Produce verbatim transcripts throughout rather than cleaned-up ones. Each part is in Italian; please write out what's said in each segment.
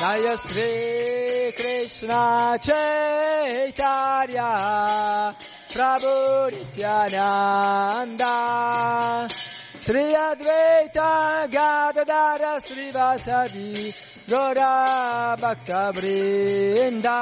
Jaya Sri Krishna Chaitanya Prabhu Nityananda Sri Advaita Gadadara Srivasadi Gaura Bhakta Vrinda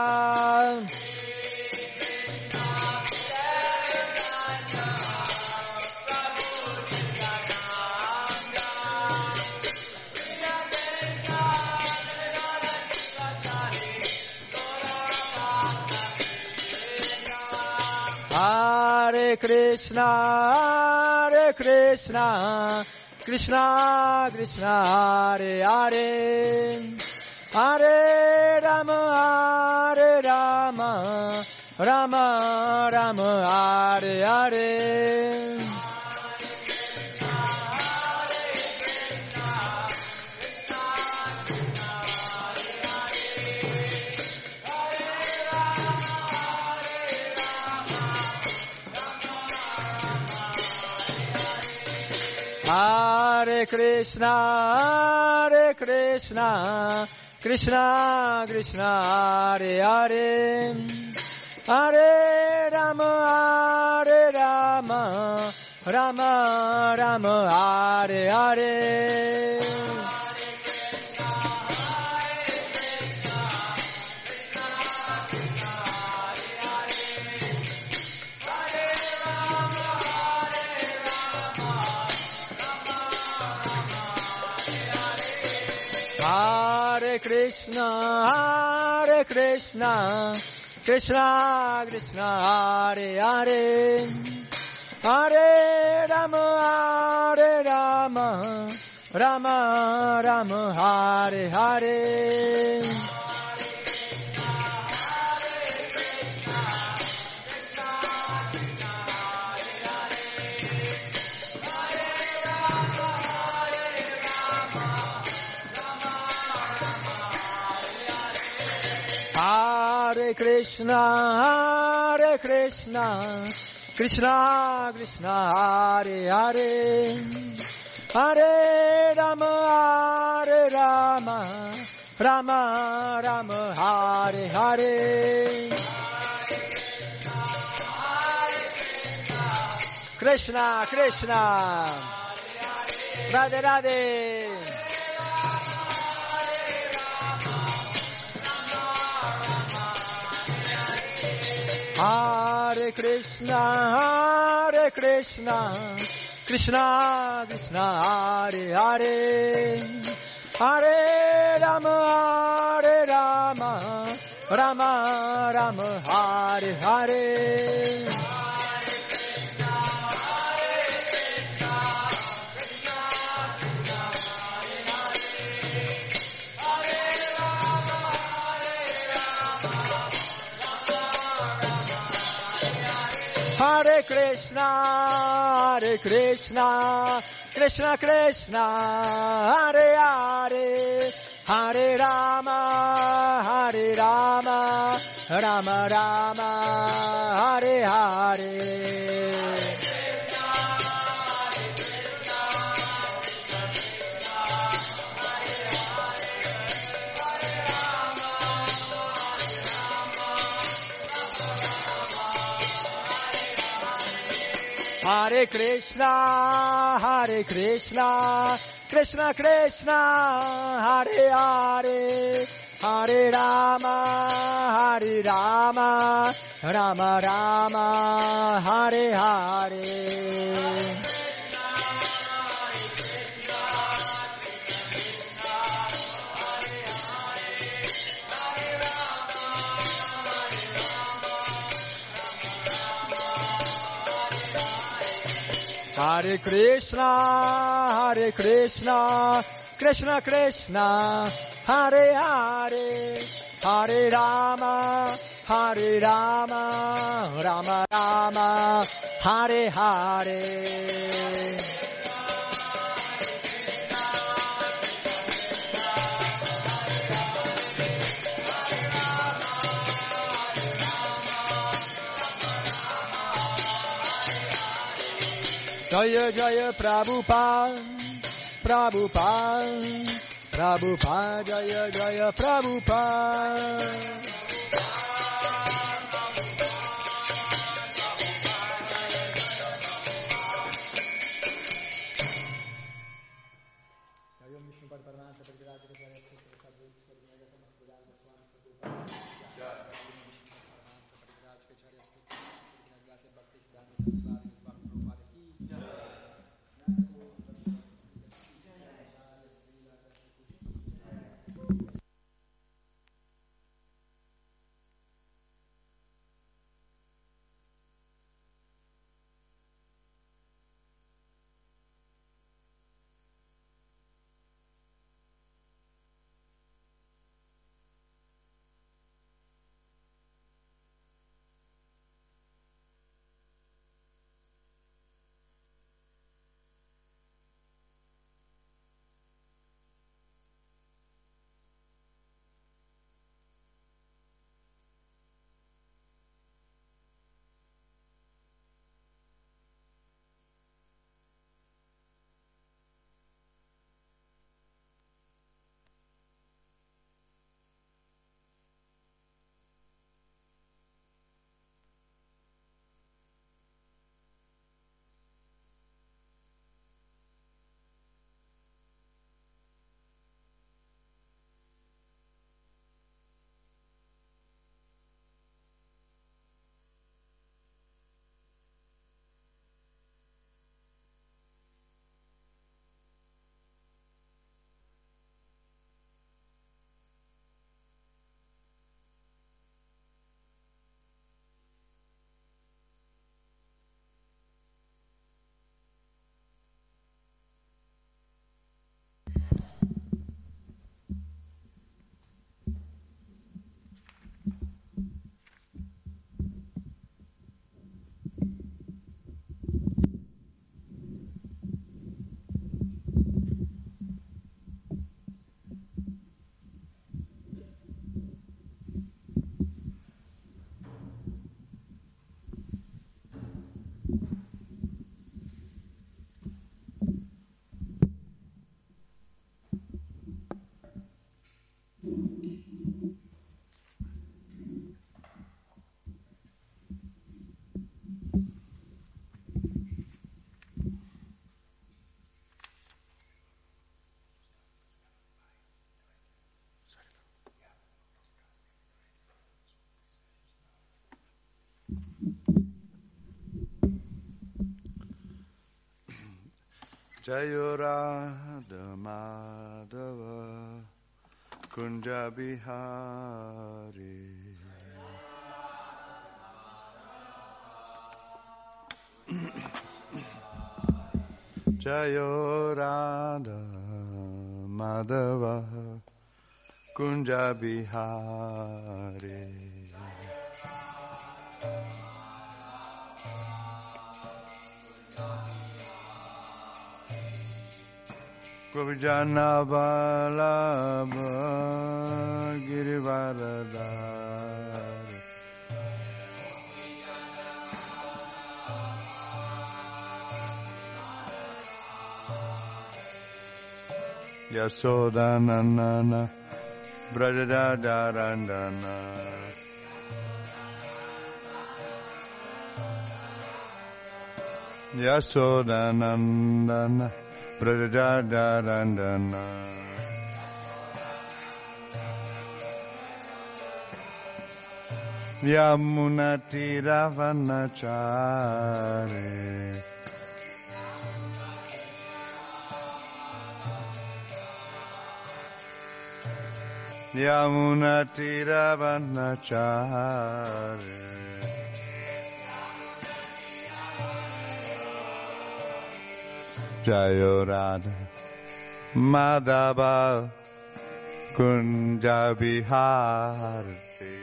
Hare Krishna, Hare Krishna, Krishna Krishna, Hare Hare, Hare Rama, Hare Rama, Rama Rama, Hare Hare. Hare Krishna, Hare Krishna, Krishna Krishna, Hare Hare, Hare Rama, Hare Rama, Rama Rama, Hare Hare. Hare Krishna, Hare Krishna, Krishna Krishna, Hare Hare, Hare Rama, Hare Rama, Rama Rama, Hare Hare. Hare Krishna, Hare Krishna, Krishna Krishna, Hare Hare, Hare Rama, Hare Rama, Rama Rama, Hare Hare. Krishna Krishna, Radhe Radhe. Hare Krishna, Hare Krishna, Krishna Krishna, Hare Hare, Hare Rama, Hare Rama, Rama Rama, Hare Hare. Hare Krishna, Hare Krishna, Krishna Krishna, Hare Hare, Hare Rama, Hare Rama, Rama Rama, Hare Hare. Hare Krishna, Hare Krishna, Krishna Krishna, Hare Hare, Hare Rama, Hare Rama, Rama Rama, Hare Hare. Hare Krishna, Hare Krishna, Krishna Krishna, Hare Hare, Hare Rama, Hare Rama, Rama Rama, Hare Hare. Jaya Jaya Prabhupada, Prabhupada, Prabhupada Jaya Jaya Prabhupada. Jaya Radha Madhava Kunja Bihari. Jaya Radha Madhava Kunja Bihari. Govijana Vallabha Girivaradhari. Yasodanandana Brajadadarandana. Yasodanandana Brajadadarandana. Yamunatiravanachare. Yamunatiravanachare. Jaya Radha Madhava Kunja Bihari.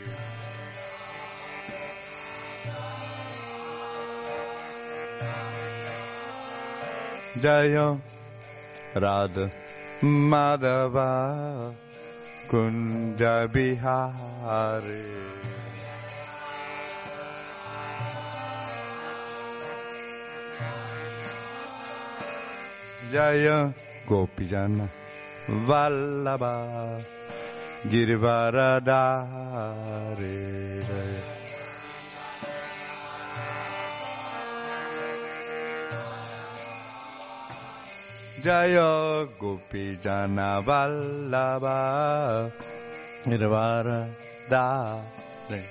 Jaya Radha Madhava Kunja Bihari. Jaya Gopijana Vallabha Girivaradhari Jaya Gopi Jana Vallabha Girivaradhari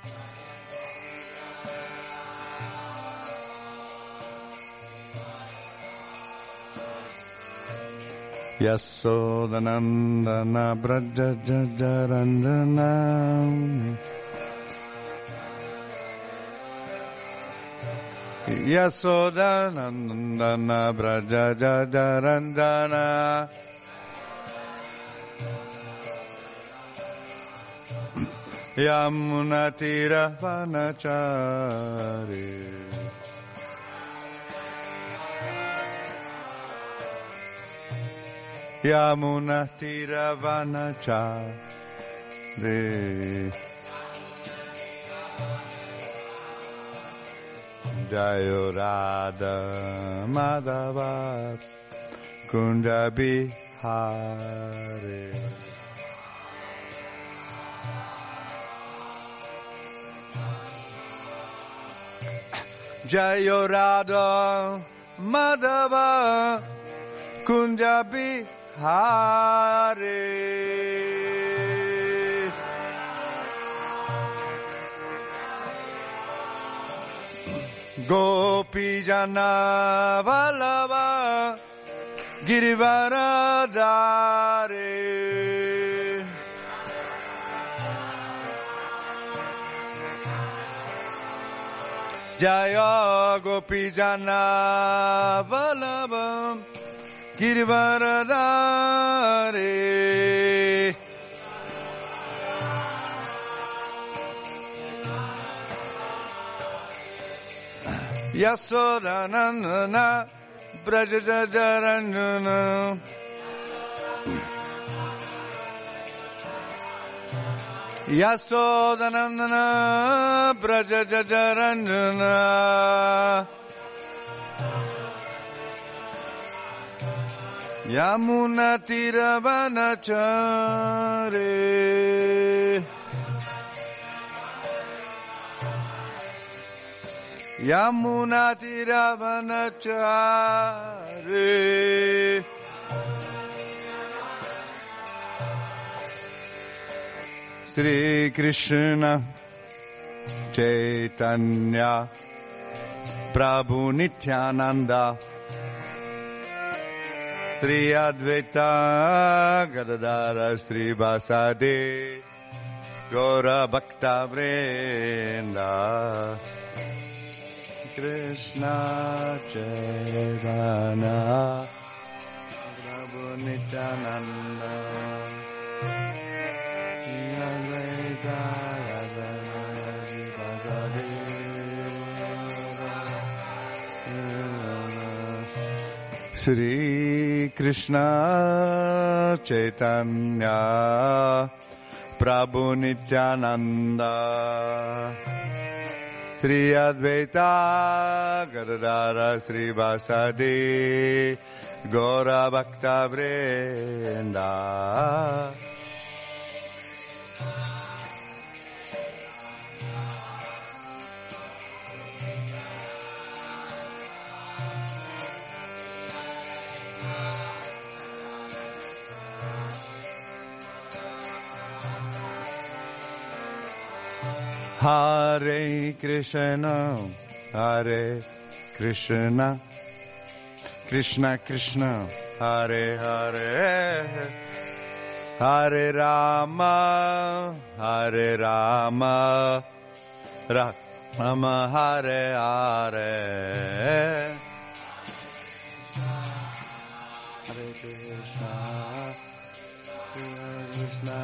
Yasodanandana Braja Jajarandana Yasodanandana Braja Jajarandana Yamunatira Vanachari Yamuna Tiravanachari Jayo Radha Madhava Kunda Bihari Jayo Radha Madhava Kunda Bihari Hare Gopi Jana Vallabha Girivaradhari Jaya Gopi Jana Vallabha Girivaradhari Yasodanandana Braja Jajarandana Yasodanandana Braja Jajarandana Yamuna Tiravanachari Yamuna Tiravanachari Sri Krishna Chaitanya Prabhu Nityananda Sri Advaita Gadadara Sri Vasadi Gaura Bhakta Vrinda Krishna Chaitanya Prabhu Nityananda Sri Advaita Gadadara Sri Vasadi Sri Krishna Chaitanya Prabhu Nityananda Sri Advaita Gadadara Sri Vasadi Gaura Bhakta Vrinda Hare Krishna, Hare Krishna, Krishna Krishna, Hare Hare, Hare Rama, Hare Rama, Rama Hare Hare, Hare Krishna, Hare Krishna.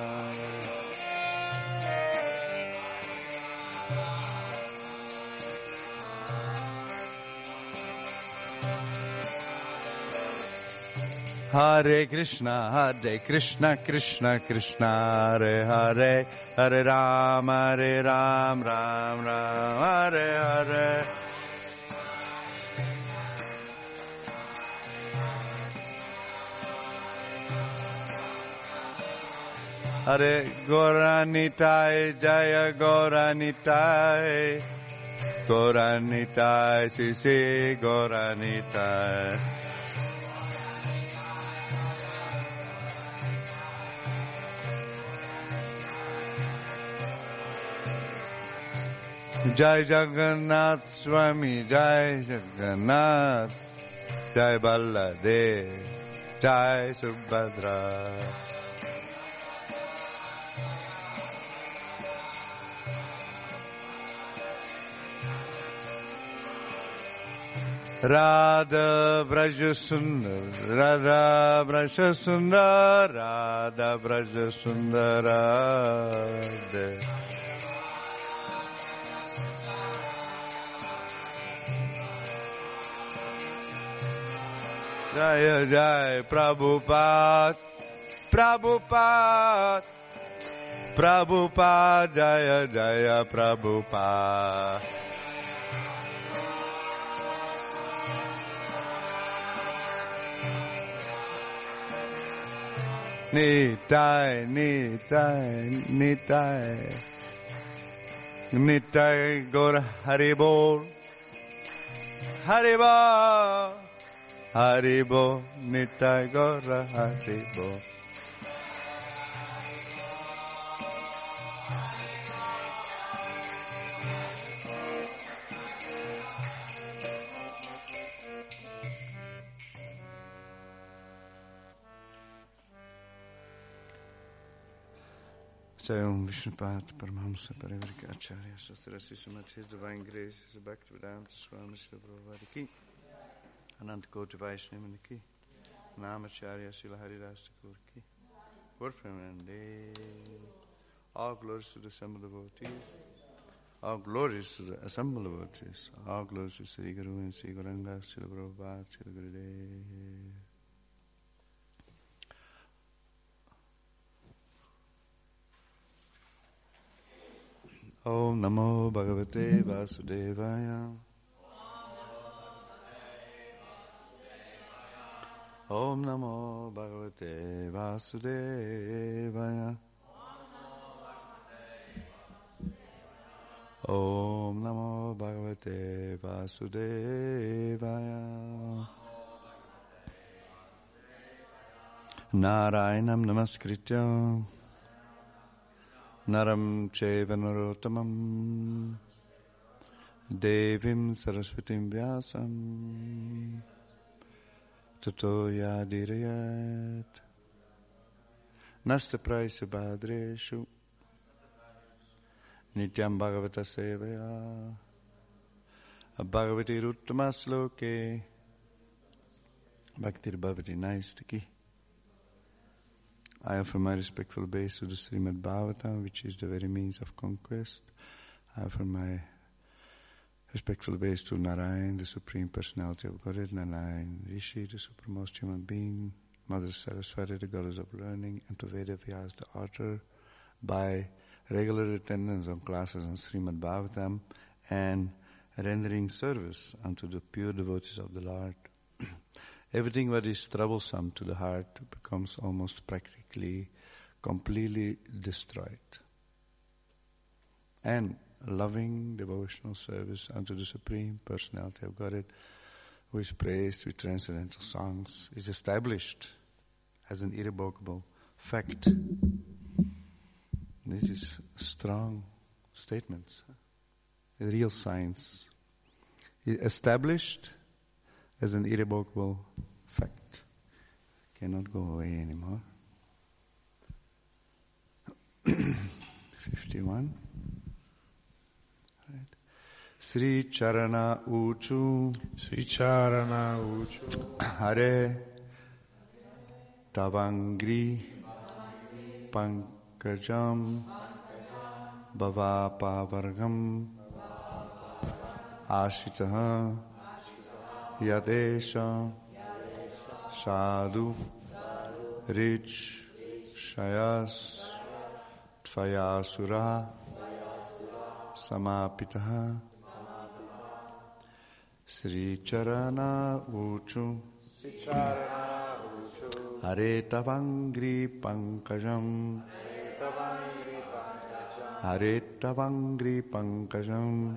Hare Krishna, Hare Krishna, Krishna Krishna, Hare Hare, Hare Ram, Hare Ram, Ram Ram, Hare Hare. Hare Gauranitai Jaya Gauranitai Gauranitai Sisi Gauranitai Jai Jagannath Swami Jai Jagannath Jai Baladev Jai Subhadra Radha Braja Sundar Radha Braja Sundar Radha Braja Sundar Radha Jaya Jai Prabhupada Prabhupada Prabhupada Jaya Jaya Prabhupada Nitai Nitai Nitai Nitai Gaur Haribol Haribol Haribo, Nitai Gaura Haribo. Say Om Vishnupada Paramahamsa Parivrika Acharya Sastrasi Samat His Divine Grace His Bhaktivedanta Swami Srila Prabhupada Ki Anant Koti Vaishnavani Ki Namacharya Srila Haridas Thakur Ki Lord Premanande all glories to the assembled devotees all glories to the assembled devotees all glories to Sri Guru and Sri Gauranga Srila Prabhupada Srila Gurudev Om Namo Bhagavate Vasudevaya Om Namo Bhagavate Vasudevaya Om Namo Bhagavate Vasudevaya Narayanam Namaskritya Naram Cheva Narottamam Devim Saraswatim Vyasam Tato Yadirayat Nasta Praisa Bhadreshu Nityam Bhagavata Sevaya Bhagavati Ruttamasloke Bhaktir Bhavati Naistaki I offer my respectful obeisance to the Srimad Bhagavatam, which is the very means of conquest. I offer my respectful obeisance to Narayan, the Supreme Personality of Godhead, Narayan Rishi, the supremest human being, Mother Saraswati, the goddess of learning, and to Veda Vyas, the author, by regular attendance of classes on Srimad Bhagavatam and rendering service unto the pure devotees of the Lord. Everything that is troublesome to the heart becomes almost practically completely destroyed. And loving devotional service unto the Supreme Personality of Godhead, who is praised with transcendental songs, is established as an irrevocable fact. This is strong statements, real science. Established as an irrevocable fact. Cannot go away anymore. fifty-one. Right. Sri Charana Uchu. Sri Charana Uchu. Hare Tavangri Pankajam Bhavapavargam Ashitaha Yadesha Sadhu Rich Shayas Tvayasura Samapitaha Sri Charana Uchu Hare Tavangri Pankajam Haretavangri pankajam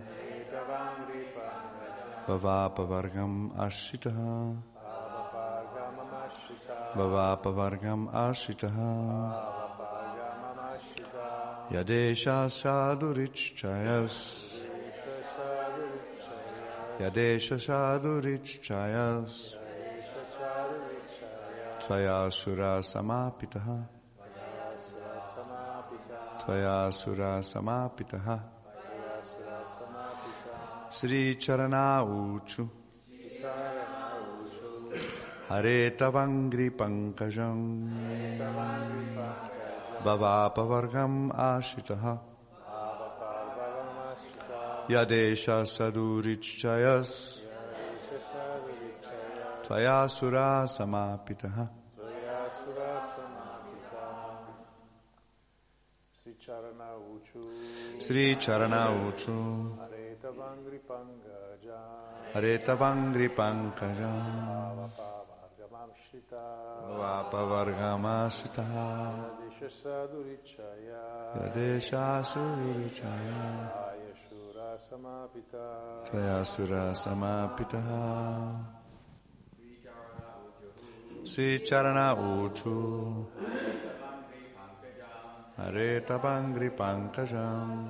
Bhavapavargam ashitaha Bhavapavargam ashitaha Yadesha sadhurichayas Yadesha sadhurichayas Tvaya sura samapitaha Tvaya sura samapitaha Sri Charana Uchu Hare Tavangri Pankajam Bhavapavargam Ashitaha Yadesha Sadhurichayas Tvaya Sura Samapitaha Sri Charana Uchu Sri Charana Uchu Hare Tavangri Pankajam Hare Tavangri Pankajam Bhavapavargamashita Yadesha Sadhurichaya Yadesha Sadhurichaya Ayashura Samapita Tvaya Sura Samapitaha Sri Charana Uchu Hare Tavangri Pankajam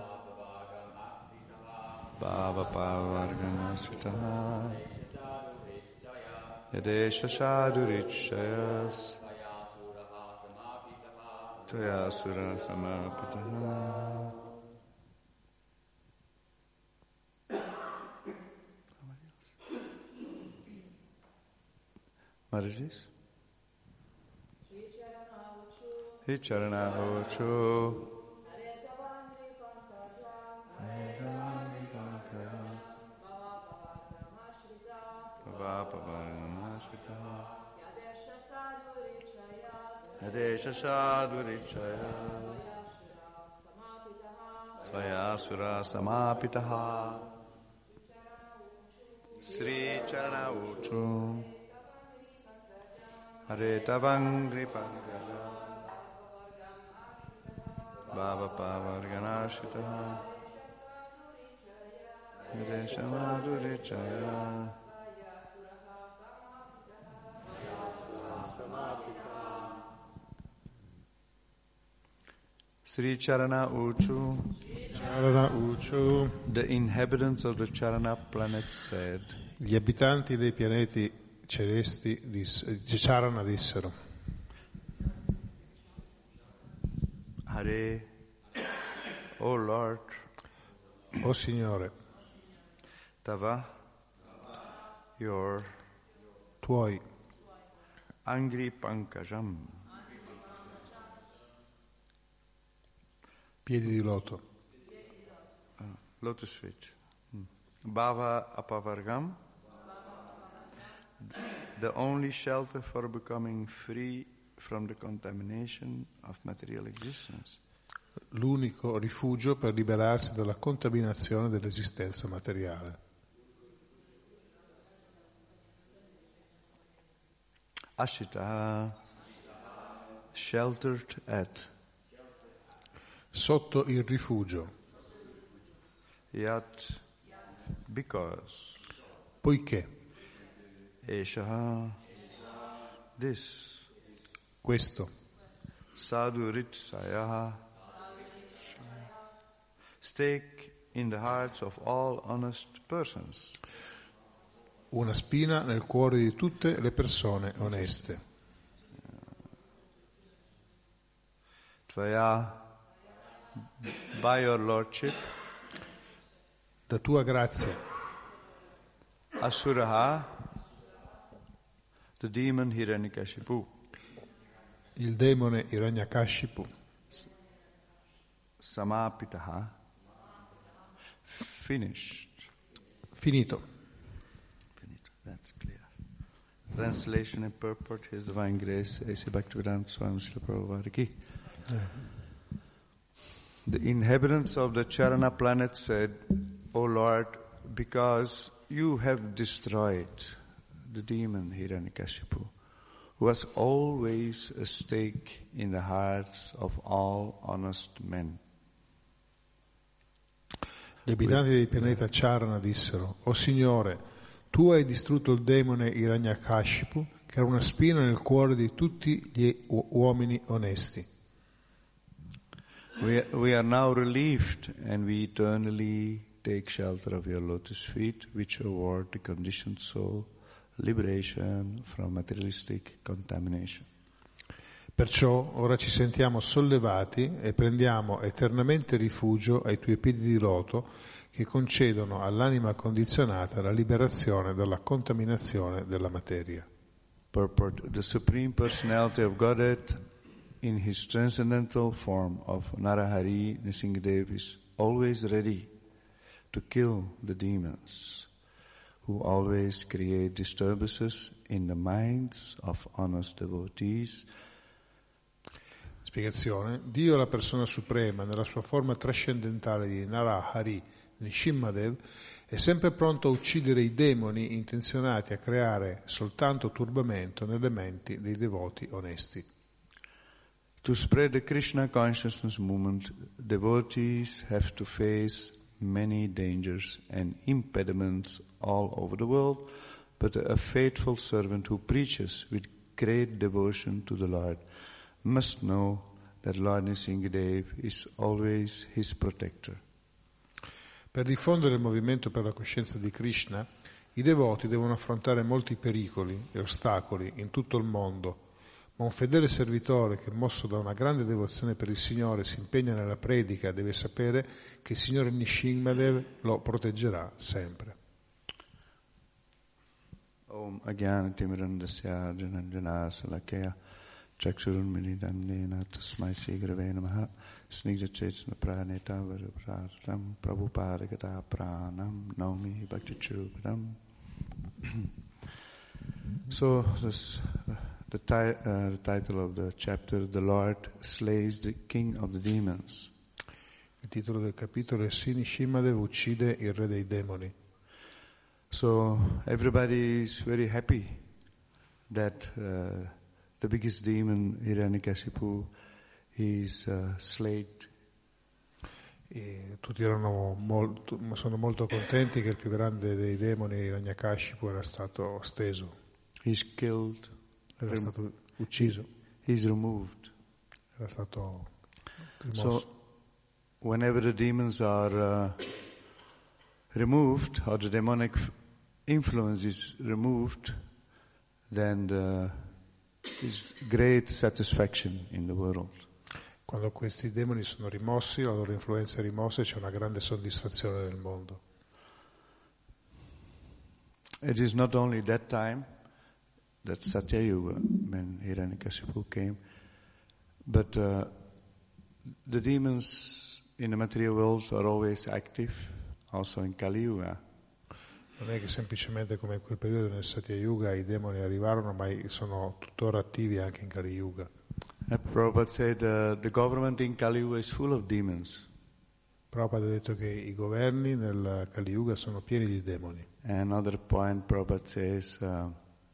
Bhavapavargamashita Yadesha Sadhurichayas Tvaya Sura Samapitaha. What is this? Sri Charana Uchu Yadesha Sadhurichaya Tvaya Sura Samapitaha Sri Charana Uchu Hare Tavangri Pankajam Bhavapavarganashitaha Yadesha Sadhurichaya Sri Charana Uchu, Charana Uchu. The inhabitants of the Charana planet said, Gli abitanti dei pianeti celesti diss- Charana dissero: Hare, O Lord, O Signore, Tava, your tuoi Angri Pankajam, piedi di loto, uh, lotus feet, hmm. Bhava Apavargam, the only shelter for becoming free from the contamination of material existence. l'unico rifugio per liberarsi dalla contaminazione dell'esistenza materiale. Ashita, sheltered at, Sotto il rifugio, yat, because, poiché eshaha, this, questo sadhuritsaya, stake in the hearts of all honest persons. una spina nel cuore di tutte le persone oneste. Tvaya, by your lordship, Da tua grazia, Asuraha, the demon Hiranyakashipu, il demone Hiranyakashipu, Samapitaha, finished. finito. Finito, that's clear. Translation and purport, His Divine Grace, A C Bhaktivedanta Swami Srila Prabhupada Ki. The inhabitants of the Charana planet said, O Lord, because you have destroyed the demon Hiranyakashipu, who has always a stake in the hearts of all honest men. Gli abitanti del pianeta Charna dissero: O Signore, tu hai distrutto il demone Hiranyakashipu, che era una spina nel cuore di tutti gli uomini onesti. We, we are now relieved and we eternally take shelter of your lotus feet, which award the conditioned soul liberation from materialistic contamination. Perciò ora ci sentiamo sollevati e prendiamo eternamente rifugio ai tuoi piedi di loto che concedono all'anima condizionata la liberazione dalla contaminazione della materia. Purport: the Supreme Personality of Godhead in his transcendental form of Narahari Nrsimhadev is always ready to kill the demons who always create disturbances in the minds of honest devotees. Spiegazione: Dio, la persona suprema, nella sua forma trascendentale di Narahari Nrsimhadev, è sempre pronto a uccidere i demoni intenzionati a creare soltanto turbamento nelle menti dei devoti onesti. To spread the Krishna consciousness movement, devotees have to face many dangers and impediments all over the world, but a faithful servant who preaches with great devotion to the Lord must know that Lord Nrsimhadev is always his protector. Per diffondere il movimento per la coscienza di Krishna, i devoti devono affrontare molti pericoli e ostacoli in tutto il mondo, ma un fedele servitore che, mosso da una grande devozione per il Signore, si impegna nella predica deve sapere che il Signore Nrsimhadev lo proteggerà sempre. Om Ajnana Timirandasya Jananjana Salakaya Chakshurunmilidannena Tasmai Sigrave Namaha Snigdha Chetana Praneta Varapratam Prabhupada Gata Pranam Naumi Bhakti Chupadam. So this, uh, the, ti- uh, the title of the chapter, The Lord Slays the King of the Demons. Il titolo del capitolo è Nrsimhadev uccide il re dei demoni. So everybody is very happy that uh, the biggest demon, Hiranyakashipu, is uh, slayed. E tutti erano molto, sono molto contenti che il più grande dei demoni, Hiranyakashipu, era stato steso. He's killed. Era rem- stato ucciso. He's removed. Era stato rimosso. So whenever the demons are uh, removed, or the demonic influence is removed, then there is great satisfaction in the world. Quando questi demoni sono rimossi, la loro influenza è rimossa, c'è una grande soddisfazione nel mondo. It is not only that time, that Satya Yuga, when Hiranyakashipu came, but uh, the demons in the material world are always active, also in Kali Yuga. Non è che semplicemente come in quel periodo nel Satya Yuga i demoni arrivarono, ma sono tuttora attivi anche in Kali Yuga. Uh, Prabhupada said uh, the government in Kali Yuga is full of demons. Prabhupada ha detto che i governi nel Kali Yuga sono pieni di demoni. Another point Prabhupada says, uh,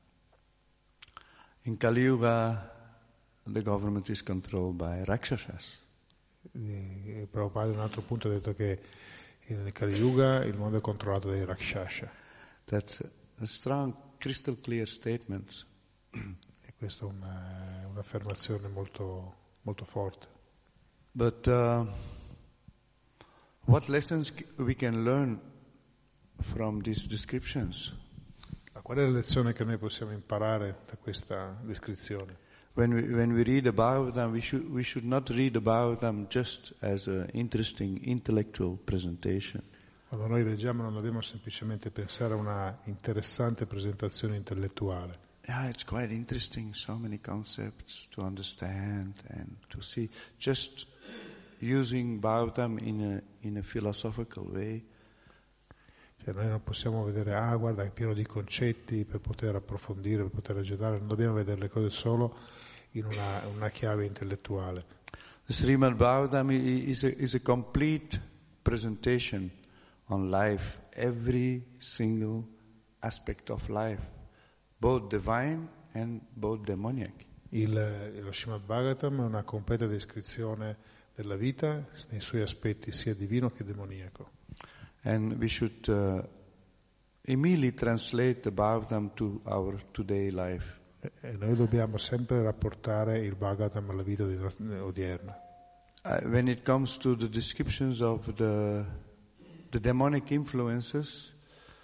in Kali Yuga the government is controlled by Rakshasas. E Prabhupada in un altro punto ha detto che nel Kali Yuga il mondo è controllato dai Rakshasa. That's a, a strong, crystal clear statement. E questa è una, un'affermazione molto, molto forte. But uh, what lessons we can learn from these descriptions? Ma qual è la lezione che noi possiamo imparare da questa descrizione? When we, when we read about them, we should, we should not read about them just as an interesting intellectual presentation. Quando noi leggiamo non dobbiamo semplicemente pensare a una interessante presentazione intellettuale. Yeah, it's quite interesting, so many concepts to understand and to see. Just using Bhagavatam in a, in a philosophical way. Cioè noi non possiamo vedere, ah guarda è pieno di concetti per poter approfondire, per poter ragionare, non dobbiamo vedere le cose solo in una, una chiave intellettuale. The Srimad Bhagavatam is a, is a complete presentation on life, every single aspect of life, both divine and both demoniac. Il, lo Srimad Bhagavatam è una completa descrizione della vita nei suoi aspetti sia divino che demoniaco. And we should uh, immediately translate the Bhagavatam to our today life. E, e noi dobbiamo sempre rapportare il Bhagavatam alla vita di, odierna. Uh, when it comes to the descriptions of the the demonic influences,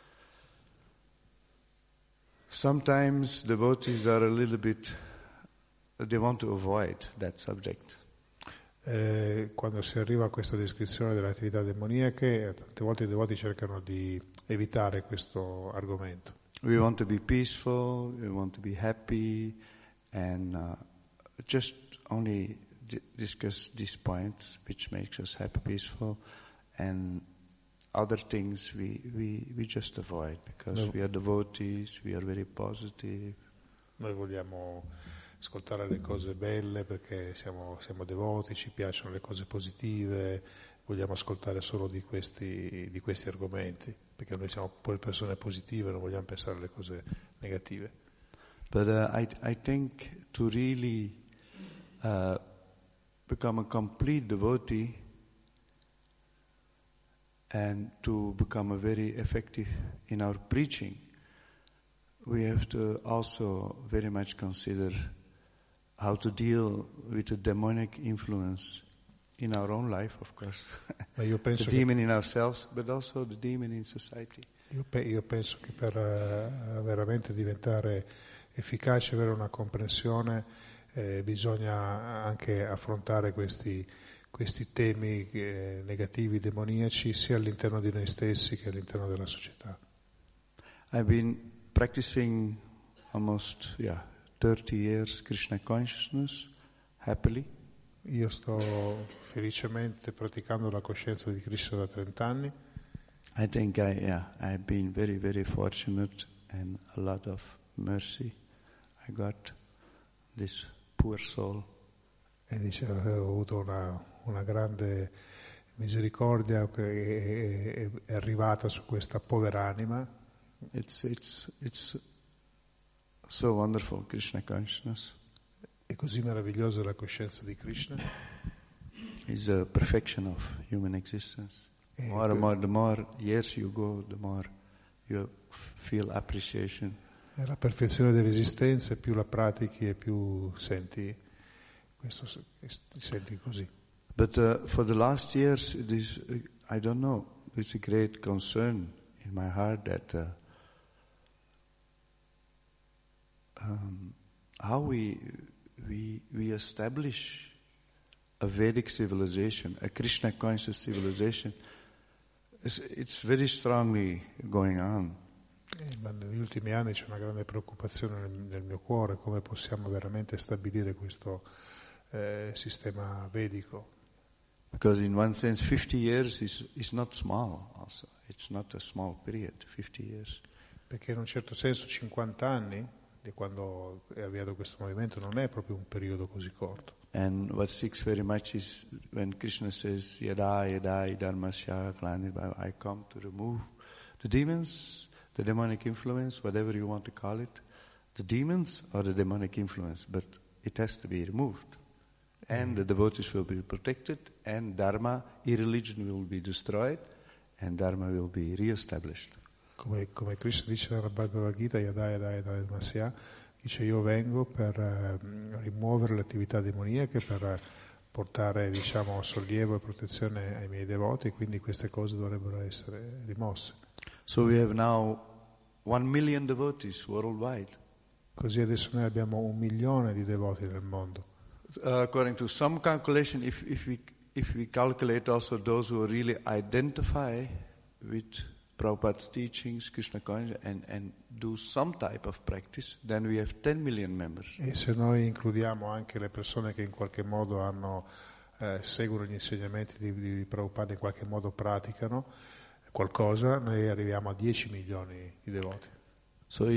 sometimes devotees are a little bit, they want to avoid that subject. Eh, quando si arriva a questa descrizione delle attività demoniache, tante volte i devoti cercano di evitare questo argomento. We want to be peaceful, we want to be happy, and uh, just only d- discuss these points which makes us happy, peaceful, and other things we, we, we just avoid because no. we are devotees, we are very positive. Noi vogliamo ascoltare le cose belle perché siamo, siamo devoti, ci piacciono le cose positive, vogliamo ascoltare solo di questi, di questi argomenti, perché noi siamo poi persone positive, non vogliamo pensare alle cose negative. But uh, I, I think to really uh, become a complete devotee and to become a very effective in our preaching, we have to also very much consider how to deal with the demonic influence in our own life, of course. Ma io penso the demon in ourselves, but also the demon in society. Io, pe- io penso che per uh, veramente diventare efficace, avere una comprensione, eh, bisogna anche affrontare questi, questi temi eh, negativi, demoniaci, sia all'interno di noi stessi che all'interno della società. I've been practicing almost, yeah, thirty years Krishna consciousness, happily. Io sto felicemente praticando la coscienza di Krishna da trenta anni. I think I, yeah, I've been very, very fortunate and a lot of mercy. I got this poor soul. E dice, ho avuto una, una grande misericordia che è, è, è arrivata su questa povera anima. It's, it's, it's so wonderful, Krishna consciousness. È così meravigliosa la coscienza di Krishna. It's the perfection of human existence. E More and more, the more years you go, the more you feel appreciation. È la perfezione dell'esistenza, più la pratichi e più senti questo, senti così. But uh, for the last years, it is, uh, I don't know, it's a great concern in my heart that uh, um, how we we we establish a Vedic civilization, a Krishna conscious civilization. It's, it's very strongly going on. Eh, ma negli ultimi anni c'è una grande preoccupazione nel, nel mio cuore, come possiamo veramente stabilire questo eh, sistema vedico. Because in one sense, fifty years is, is not small also. It's not a small period, fifty years. Perché in un certo senso cinquanta anni, di quando è avviato questo movimento, non è proprio un periodo così corto. And what sticks very much is when Krishna says, Yada yada dharmasya glanirvaya, I come to remove the demons, the demonic influence, whatever you want to call it, the demons or the demonic influence, but it has to be removed. And the devotees will be protected, and dharma, irreligion will be destroyed, and dharma will be re-established. Come, come Krishna dice nella Bhagavad Gita, Yada Yada Yada Dharmasya, dice io vengo per eh, rimuovere le attività demoniache, per portare, diciamo, sollievo e protezione ai miei devoti, quindi queste cose dovrebbero essere rimosse. So we have now one million devotees worldwide. Così adesso noi abbiamo un milione di devoti nel mondo. Uh, according to some calculation, if, if we if we calculate also those who really identify with Prabhupada's teachings, Krishna consciousness, and, and do some type of practice, then we have ten million members. E se noi includiamo anche le persone che in qualche modo hanno, eh, seguono gli insegnamenti di, di Prabhupada, in qualche modo praticano qualcosa, noi arriviamo a dieci milioni di devoti. So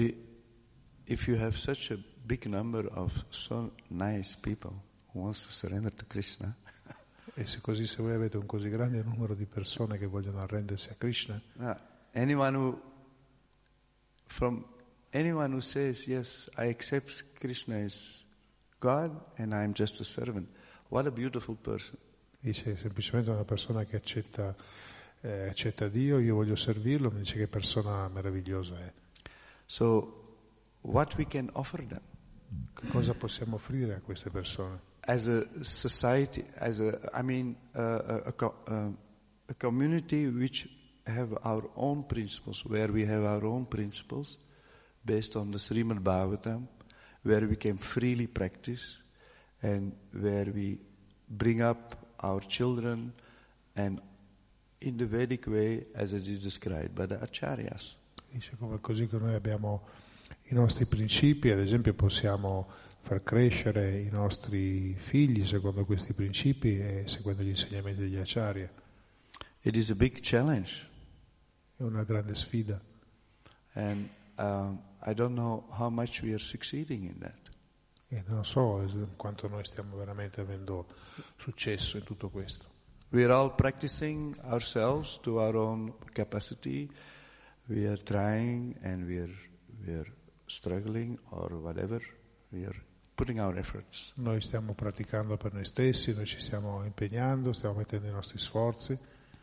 if you have such a big number of so nice people who wants to surrender to Krishna, e se così, se voi avete un così grande numero di persone che vogliono arrendersi a Krishna, uh, anyone who from anyone who says, yes, I accept Krishna as God and I am just a servant, what a beautiful person. Dice semplicemente una persona che accetta, eh, accetta Dio, io voglio servirlo, mi dice che persona meravigliosa è. So, what we can offer them? Cosa possiamo offrire a queste persone? As a society, as a, I mean, uh, a, a, a, a community which have our own principles, where we have our own principles based on the Srimad Bhagavatam, where we can freely practice and where we bring up our children and in the Vedic way as it is described by the Acharyas. Dice come così che noi abbiamo i nostri principi, ad esempio possiamo far crescere i nostri figli secondo questi principi e seguendo gli insegnamenti degli Acharya. It is a big challenge. È una grande sfida. And um, I don't know how much we are succeeding in that. E non so quanto noi stiamo veramente avendo successo in tutto questo. We are all practicing ourselves to our own capacity. We are trying and we are, we are struggling or whatever. We are putting our efforts. Noi stiamo praticando per noi stessi, noi ci stiamo impegnando, stiamo mettendo i nostri sforzi.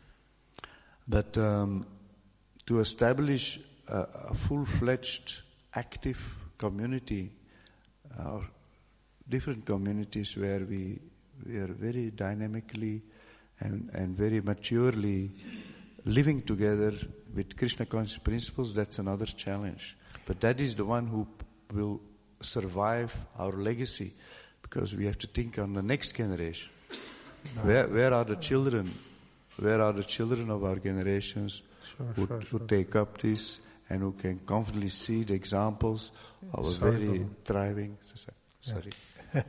But um, to establish a, a full-fledged, active community, uh, different communities where we we are very dynamically and, and very maturely living together with Krishna conscious principles, that's another challenge. But that is the one who will survive our legacy, because we have to think on the next generation. No. Where, where are the children? Where are the children of our generations sure, who, sure, who sure. take up this and who can confidently see the examples of a very thriving society? Sorry. Yeah.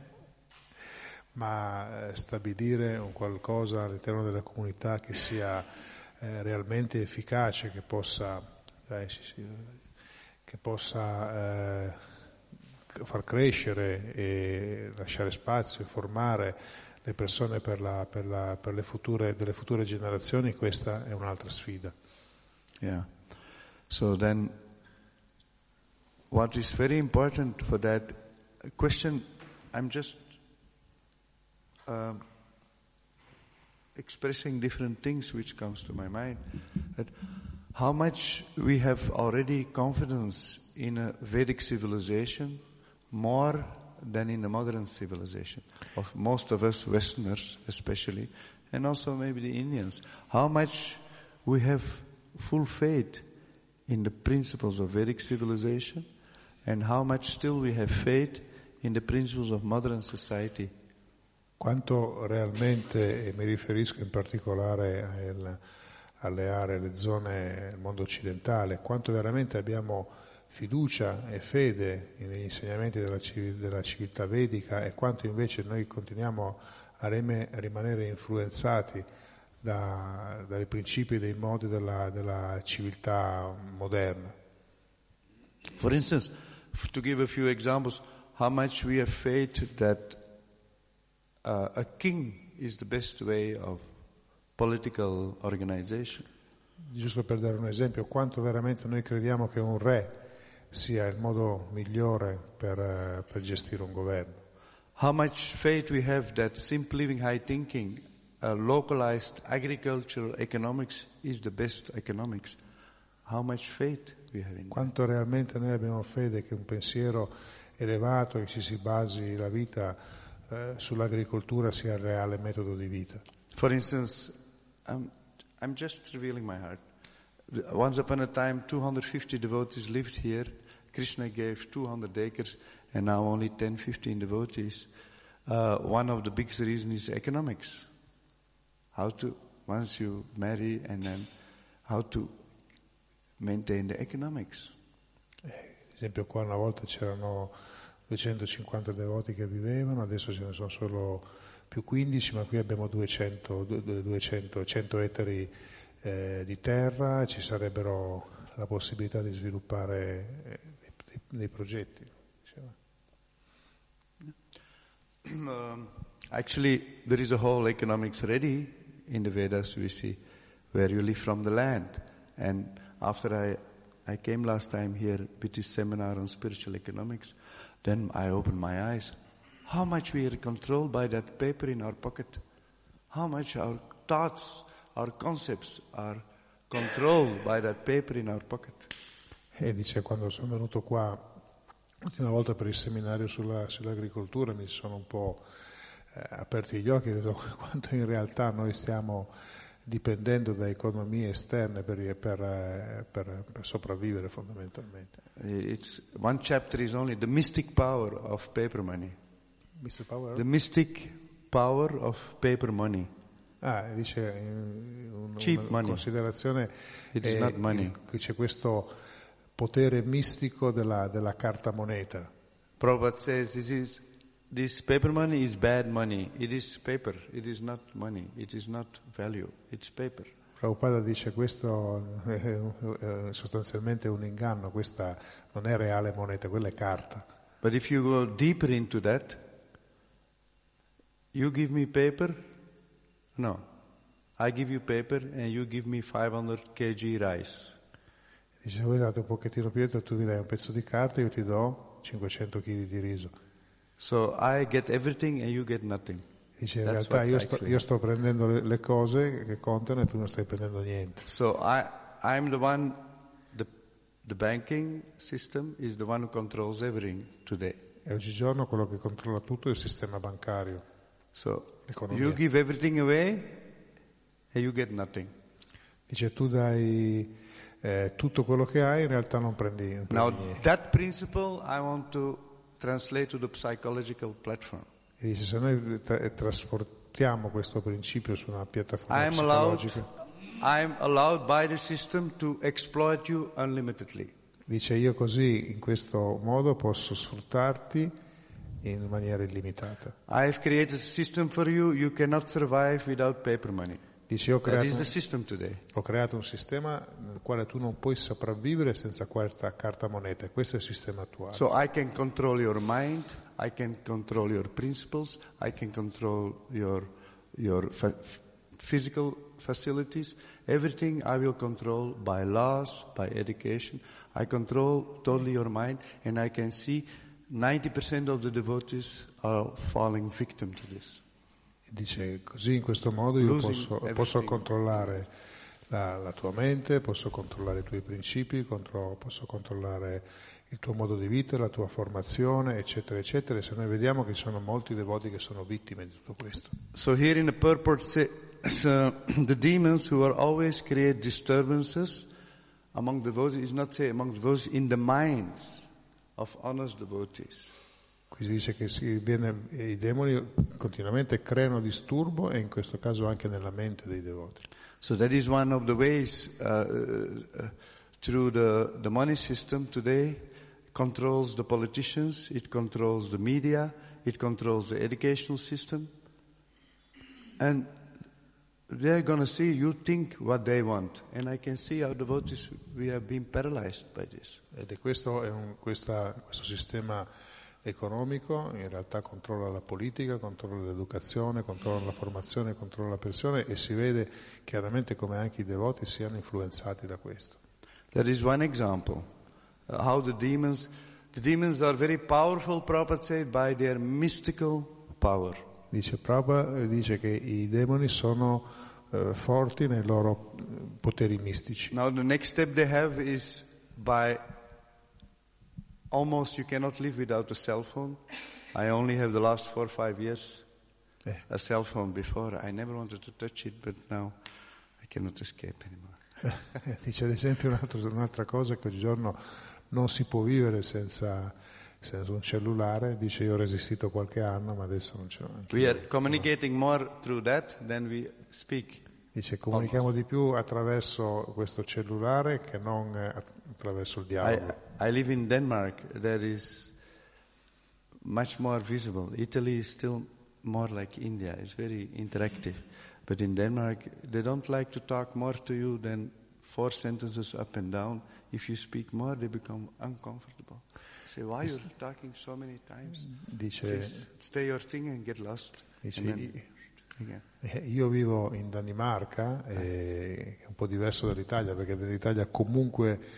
Ma eh, stabilire un qualcosa all'interno della comunità che sia eh, realmente efficace, che possa, eh, sì, sì, che possa eh, far crescere e lasciare spazio e formare le persone per, la, per, la, per le future, delle future generazioni, questa è un'altra sfida. Yeah. So then, what is very important for that question, I'm just uh, expressing different things which comes to my mind. That how much we have already confidence in a Vedic civilization, more than in the modern civilization of most of us Westerners especially, and also maybe the Indians. How much we have full faith in the principles of Vedic civilization, and how much still we have faith in the principles of modern society. Quanto realmente, e mi riferisco in particolare al, alle aree, alle zone, al mondo occidentale, quanto veramente abbiamo fiducia e fede negli insegnamenti della, della civiltà vedica e quanto invece noi continuiamo a, reme, a rimanere influenzati da, dai principi e dai modi della, della civiltà moderna. For instance, to give a few examples, how much we have faith that uh, a king is the best way of political organization. Giusto per dare un esempio, quanto veramente noi crediamo che un re sia il modo migliore per, per gestire un governo. How much faith we have that simple living, high thinking, uh, localized agricultural economics is the best economics. How much faith we have in Quanto that? realmente noi abbiamo fede che un pensiero elevato, che ci si basi la vita eh, sull'agricoltura sia il reale metodo di vita. For instance, I'm, I'm just revealing my heart. Once upon a time, two hundred fifty devotees lived here. Krishna gave two hundred acres, and now only ten, fifteen devotees. Uh, one of the biggest reasons is economics. How to, once you marry, and then how to maintain the economics. Ad esempio qua una volta c'erano duecentocinquanta devoti che vivevano, adesso ce ne sono solo più quindici, ma qui abbiamo duecento, duecento, cento ettari eh, di terra, ci sarebbero la possibilità di sviluppare eh, dei, dei progetti. Um, actually, there is a whole economics ready in the Vedas, we see, where you live from the land. And after I, I came last time here with this seminar on spiritual economics. Then I opened my eyes. How much we are controlled by that paper in our pocket. How much our thoughts, our concepts are controlled by that paper in our pocket. E dice, quando sono venuto qua l'ultima volta per il seminario sulla, sull'agricoltura, mi sono un po' eh, aperti gli occhi e ho detto quanto in realtà noi stiamo dipendendo da economie esterne per, per, per, per sopravvivere fondamentalmente. It's, one chapter is only the mystic power of paper money. mister Power? The mystic power of paper money. Ah, dice un, Cheap una money. considerazione It is è, not money. il, che c'è questo potere mistico della, della carta moneta. Prabhupada says this is this paper money is bad money. It is paper. It is not money. It is not value. It's paper. Prabhupada dice questo è, è sostanzialmente un inganno, questa non è reale moneta, quella è carta. But if you go deeper into that, you give me paper? No. I give you paper and you give me five hundred kilogrami rice. Dice, voi date un pochettino più dietro, tu mi dai un pezzo di carta, io ti do cinquecento chili di riso. So I get everything and you get nothing. Dice, in That's realtà io what's sto, io sto prendendo le, le cose che contano e tu non stai prendendo niente. So I, I'm the one, the, the banking system is the one who controls everything today. E oggigiorno quello che controlla tutto è il sistema bancario. So Economia. you give everything away and you get nothing. Dice, tu dai eh, tutto quello che hai, in realtà non prendi, non prendi Now niente. that principle I want to translate to the psychological platform. E dice, se noi tra- trasportiamo questo principio su una piattaforma I'm allowed, psicologica, I'm allowed by the system to exploit you unlimitedly. dice, io così, in questo modo, posso sfruttarti in maniera illimitata. I've created a system for you, you cannot survive without paper money. Dice, ho That creato, is the system today. ho creato un sistema nel quale tu non puoi sopravvivere senza questa carta moneta, e questo è il sistema attuale. So I can control your mind, I can control your principles, I can control your, your fa- physical facilities, everything I will control by laws, by education. I control totally your mind, and I can see ninety percent of the devotees are falling victim to this. Dice, così in questo modo io Losing posso, everything. posso controllare la, la tua mente, posso controllare i tuoi principi, contro, posso controllare il tuo modo di vita, la tua formazione, eccetera, eccetera. E se noi vediamo che ci sono molti devoti che sono vittime di tutto questo. So here in the purport say, so the demons who are always create disturbances among devotees, is not say among devotees, in the minds of honest devotees. Qui si dice che si viene, i demoni continuamente creano disturbo, e in questo caso anche nella mente dei devoti. So that is one of the ways uh, uh, through the, the money system today controls the politicians, it controls the media, it controls the educational system. And they're going to see you think what they want. And I can see our devotees, we have been paralyzed by this. Ed è questo, è un, questa, questo sistema economico in realtà controlla la politica, controlla l'educazione, controlla la formazione, controlla la persona, e si vede chiaramente come anche i devoti siano influenzati da questo. That is one example. Uh, how the demons, the demons are very powerful, Prabhupada said, by their mystical power. Dice Prabhupada, dice che i demoni sono eh, forti nei loro poteri mistici. Now the next step they have is by almost you cannot live without a cell phone. I only have the last four or five years Eh. a cell phone. Before I never wanted to touch it, but now I cannot escape anymore. Dice ad esempio un altro, un'altra cosa, che oggigiorno non si può vivere senza, senza un cellulare. Dice, io ho resistito qualche anno, ma adesso non ce l'ho. We are communicating more through that than we speak. Dice, comunichiamo di più attraverso questo cellulare che non eh, attraverso il I, dialogo. I live in Denmark. That is much more visible. Italy is still more like India. It's very interactive. But in Denmark, they don't like to talk more to you than four sentences up and down. If you speak more, they become uncomfortable. Say, why you're talking so many times? Dice, Please stay your thing and get lost. dice And then, again. eh, io vivo in Danimarca, eh, che è un po' diverso dall'Italia, perché nell'Italia comunque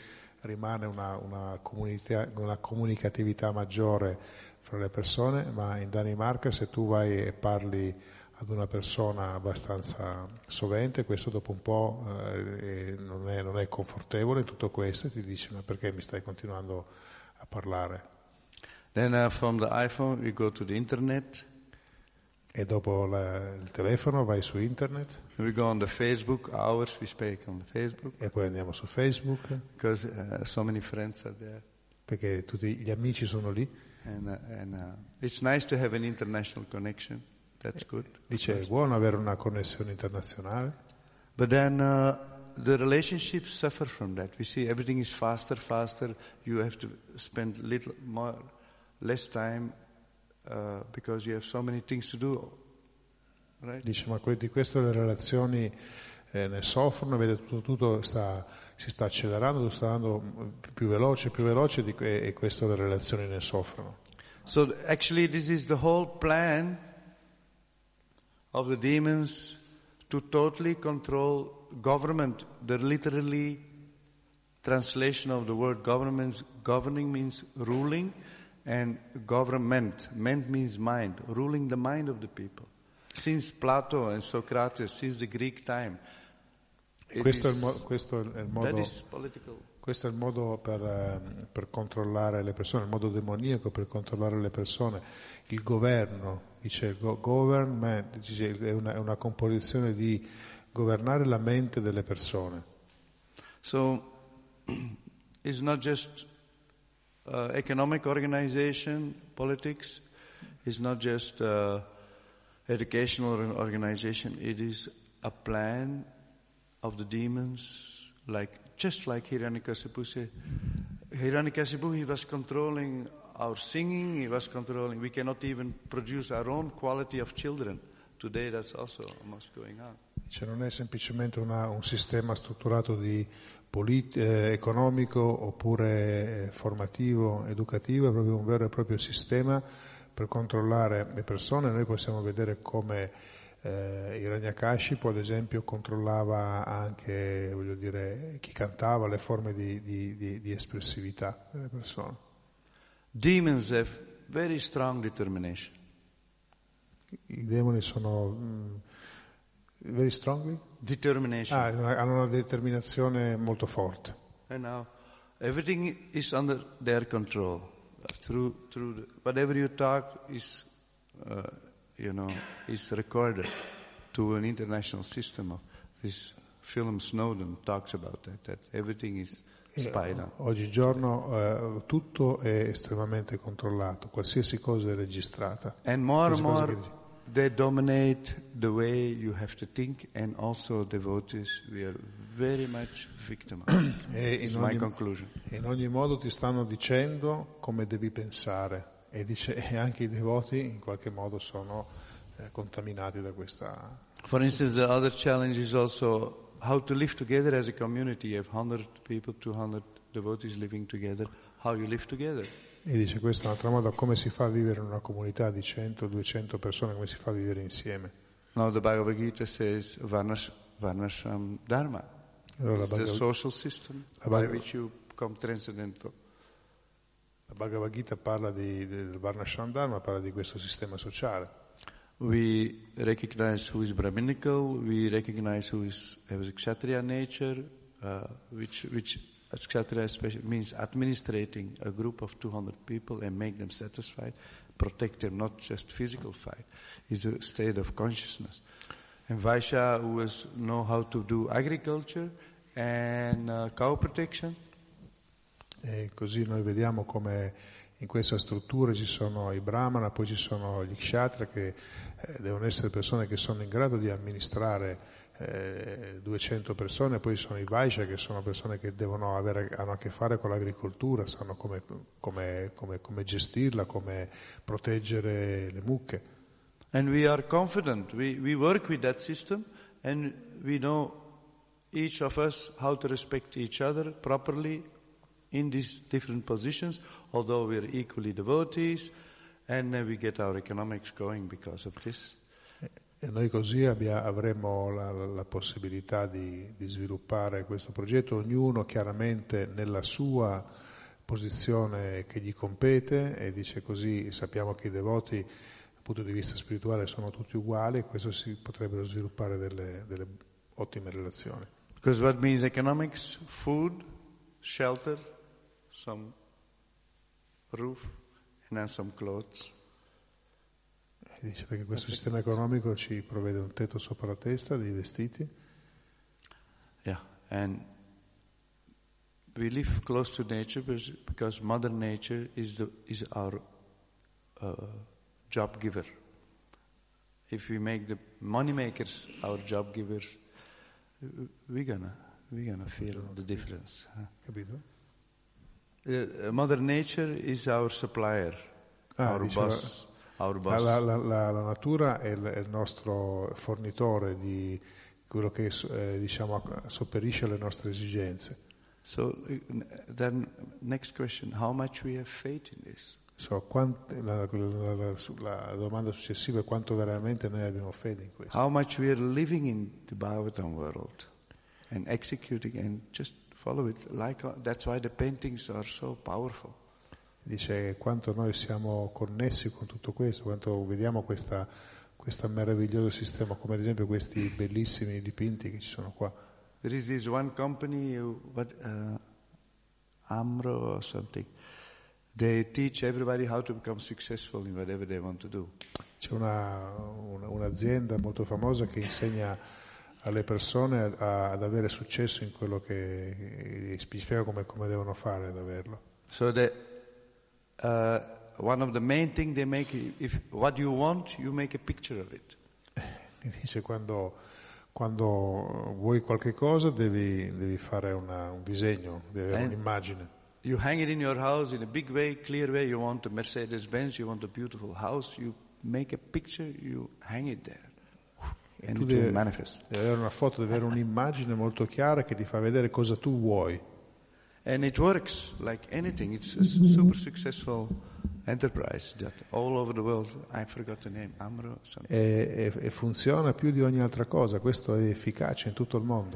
rimane una, una, comunità, una comunicatività maggiore fra le persone, ma in Danimarca se tu vai e parli ad una persona abbastanza sovente, questo dopo un po' eh, non, è, non è confortevole in tutto questo e ti dice ma perché mi stai continuando a parlare? Then uh, from the iPhone we go to the internet. E dopo la, il telefono vai su internet. We go on the Facebook, hours we speak on the Facebook. E poi andiamo su Facebook. Because uh, so many friends are there. Perché tutti gli amici sono lì. And, uh, and uh, it's nice to have an international connection. That's good. Dice è buono avere una connessione internazionale. But then uh, the relationships suffer from that. We see everything is faster, faster. You have to spend little more, less time. Uh, because you have so many things to do, right? Dice, ma di questo le relazioni eh, ne soffrono, vede tutto, tutto sta, si sta accelerando, sta andando più veloce, più veloce di, e, e questo le relazioni ne soffrono. So actually this is the whole plan of the demons to totally control government. The literally translation of the word government, governing means ruling. And government, ment means mind, ruling the mind of the people. Since Plato and Socrates, since the Greek time. Questo, is, è, il mo- questo è il modo, political. Questo è il modo per, uh, per controllare le persone, il modo demoniaco per controllare le persone. Il governo, dice go- government, dice, è, una, è una composizione di governare la mente delle persone. So, it's not just Uh, economic organization, politics, is not just uh, educational organization. It is a plan of the demons, like just like Hiranyakasipu said. Hiranyakasipu, he was controlling our singing. He was controlling. We cannot even produce our own quality of children. Today, that's also almost going on. Cioè non è semplicemente una, un sistema strutturato di Polit- eh, economico oppure eh, formativo, educativo, è proprio un vero e proprio sistema per controllare le persone. Noi possiamo vedere come eh, Hiranyakashipu, ad esempio, controllava anche, voglio dire, chi cantava, le forme di, di, di, di espressività delle persone. Demons have very strong determination. I demoni sono mm, very strongly? Determination. Ah, hanno una determinazione molto forte. And now everything is under their control. Through through the, whatever you talk is, uh, you know, is recorded to an international system. Of this film Snowden talks about that. That everything is spied on. Oggigiorno eh, tutto è estremamente controllato, qualsiasi cosa è registrata. And more and more. They dominate the way you have to think, and also devotees, we are very much victim of it. It's my conclusion. In ogni modo ti stanno dicendo come devi pensare e, dice, e anche i devoti in qualche modo sono eh, contaminati da questa. For instance, the other challenge is also how to live together as a community. You have one hundred people, two hundred devotees living together. How you live together? E dice questo è un altro modo, come si fa a vivere in una comunità di cento duecento persone, come si fa a vivere insieme. Now the Bhagavad Gita says Varnash, Varnashram Dharma. Allora, It's Bhagavad, the social system by which you become transcendental. La Bhagavad Gita parla di, del Varnashram Dharma, parla di questo sistema sociale. We recognize who is Brahminical, we recognize who is has a Kshatriya nature, uh, which which Kshatriya means administrating a group of two hundred people and make them satisfied, protect them, not just physical fight. It's a state of consciousness. And Vaishya, who is know how to do agriculture and uh, cow protection. E così noi vediamo come in questa struttura ci sono i Brahmana, poi ci sono gli Kshatriya, che eh, devono essere persone che sono in grado di amministrare Eh, duecento persone, poi sono i Vaishya, che sono persone che devono avere, hanno a che fare con l'agricoltura, sanno come, come, come, come gestirla, come proteggere le mucche. And we are confident, we, we work with that system and we know each of us how to respect each other properly in these different positions, although we are equally devotees, and uh, we get our economics going because of this. E noi così abbia, avremo la, la, la possibilità di, di sviluppare questo progetto, ognuno chiaramente nella sua posizione che gli compete, e dice così sappiamo che i devoti dal punto di vista spirituale sono tutti uguali, e questo si potrebbero sviluppare delle, delle ottime relazioni. Because what means economics? Food, shelter, some roof, and then some clothes. E dice perché questo That's sistema economico ci provvede un tetto sopra la testa, dei vestiti. Yeah, and we live close to nature because Mother Nature is the is our uh, job giver. If we make the money makers our job givers, we're gonna we're gonna feel the difference. Capito? Uh, Mother Nature is our supplier, ah, our diceva, boss. Our boss. La, la, la, la natura è il, è il nostro fornitore di quello che eh, diciamo sopperisce alle nostre esigenze. So then next question, how much we have faith in this? So, quant, la, la, la, la domanda successiva è quanto veramente noi abbiamo fede in questo. How much we are living in the Bhagavatam world and executing and just follow it. Like uh, that's why the paintings are so powerful. Dice quanto noi siamo connessi con tutto questo, quanto vediamo questa, questo meraviglioso sistema, come ad esempio questi bellissimi dipinti che ci sono qua. There is this one company, what, uh, Amro or something. They teach everybody how to become successful in whatever they want to do. C'è una, una, un'azienda molto famosa che insegna alle persone a, ad avere successo in quello che spiega come, come devono fare ad averlo. So that uh, one of the main thing they make, if what you want, you make a picture of it. Dice quando, quando vuoi qualche cosa devi, devi fare una, un disegno, devi avere And un'immagine. You hang it in your house in a big way, clear way. You want a Mercedes-Benz, you want a beautiful house. You make a picture, you hang it there. And tu it devi, will manifest. devi avere una foto, devi avere un'immagine molto chiara che ti fa vedere cosa tu vuoi. And it works like anything. It's a super successful enterprise that all over the world, I forgot the name, Amro something. E, e, e funziona più di ogni altra cosa, questo è efficace in tutto il mondo.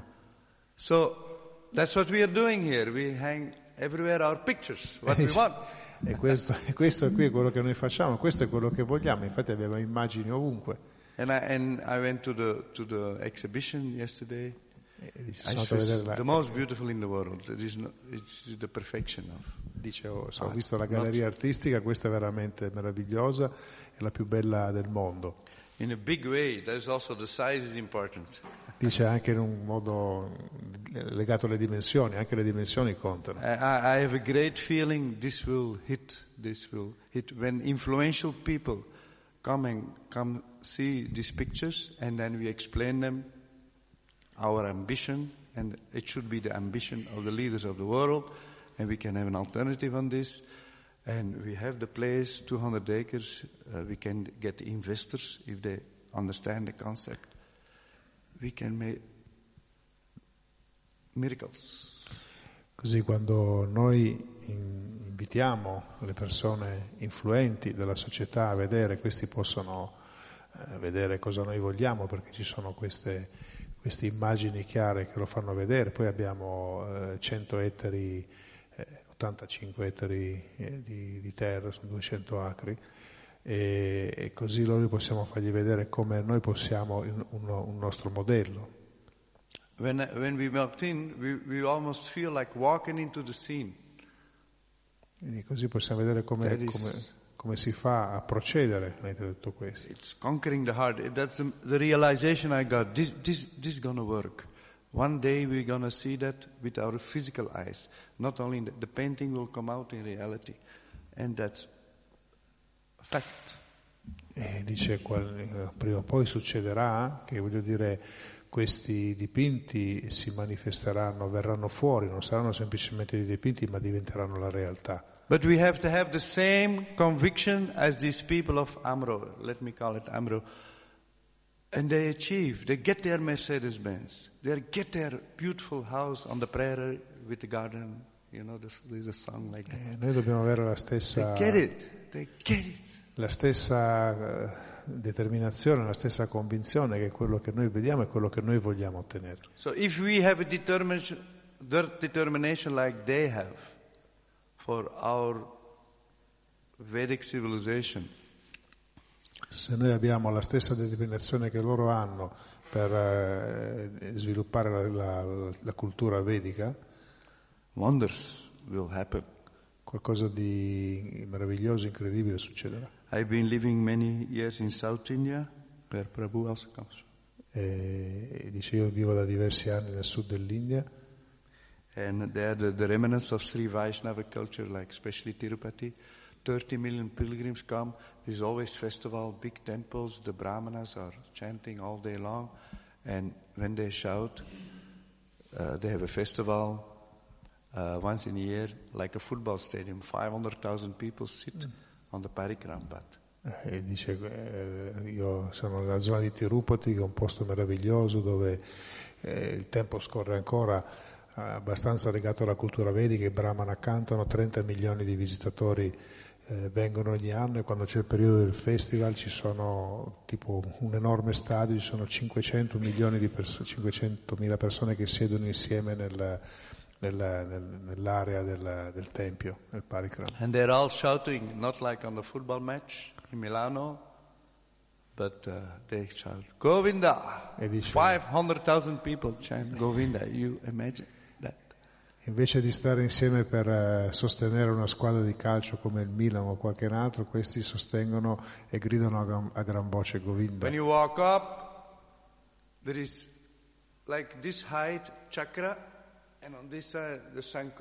So that's what we are doing here. We hang everywhere our pictures, what we want. E questo, e questo è qui quello che noi facciamo, questo è quello che vogliamo, infatti abbiamo immagini ovunque. And I, and I went to the to the exhibition yesterday. Dice, I was the most beautiful in the world. It is no, it's the perfection of. Dice, oh, so, ho visto la galleria artistica, questa è veramente meravigliosa, è la più bella del mondo. In a big way, there's also the size is important. Dice anche in un modo legato alle dimensioni, anche le dimensioni contano. I, I have a great feeling this will hit, this will hit when influential people come and come see these pictures, and then we explain them our ambition, and it should be the ambition of the leaders of the world, and we can have an alternative on this. And we have the place, two hundred acres, uh, we can get investors if they understand the concept. We can make miracles. Così quando noi invitiamo le persone influenti della società a vedere, questi possono eh, vedere cosa noi vogliamo, perché ci sono queste, queste immagini chiare che lo fanno vedere. Poi abbiamo eh, cento ettari, eh, ottantacinque ettari eh, di, di terra su duecento acri, e, e così noi possiamo fargli vedere come noi possiamo un, un nostro modello. When when we walked in, we we almost feel like walking into the scene. E così possiamo vedere come, come, come si fa a procedere mentre tutto questo. It's conquering the heart. That's the, the realization I got. This this this is gonna work. One day we're gonna see that with our physical eyes. Not only the, the painting will come out in reality, and that's a fact. E dice qual, prima o poi succederà che, voglio dire, questi dipinti si manifesteranno, verranno fuori, non saranno semplicemente dei dipinti, ma diventeranno la realtà. But we have to have the same conviction as these people of Amro, let me call it Amro. And they achieve, they get their Mercedes-Benz, they get their beautiful house on the prairie with the garden, you know, there's, there's a song like that. Eh, noi dobbiamo avere la stessa... They get it, they get it. La stessa determinazione, la stessa convinzione che quello che noi vediamo è quello che noi vogliamo ottenere. So if we have a determination, determination like they have for our Vedic civilization, se noi abbiamo la stessa determinazione che loro hanno per eh, sviluppare la, la, la cultura vedica, wonders will happen. Qualcosa di meraviglioso, incredibile succederà. I've been living many years in South India, where Prabhu also comes. E dice, io vivo da diversi anni nel sud dell'India. And there the, the remnants of Sri Vaishnava culture, like especially Tirupati, thirty million pilgrims come. There's always festival, big temples. The Brahmanas are chanting all day long. And when they shout, uh, they have a festival uh, once in a year, like a football stadium. five hundred thousand people sit mm. on the Parikram path. E dice, eh, io sono nella zona di Tirupati, che è un posto meraviglioso dove eh, il tempo scorre ancora, eh, abbastanza legato alla cultura vedica. I Brahmana cantano, trenta milioni di visitatori eh, vengono ogni anno, e quando c'è il periodo del festival ci sono tipo un enorme stadio, ci sono cinquecento milioni di persone, cinquecentomila persone che siedono insieme nel, nel, nel, nell'area del, del tempio, nel Parikram. And they're all shouting, not like on the football match in Milano, but uh, they shout Govinda. five hundred thousand people chant Govinda. You imagine that? Invece di stare insieme per uh, sostenere una squadra di calcio come il Milan o qualche altro, questi sostengono e gridano a gran, a gran voce Govinda. When you walk up, there is like this height chakra, and on this side the Sanko.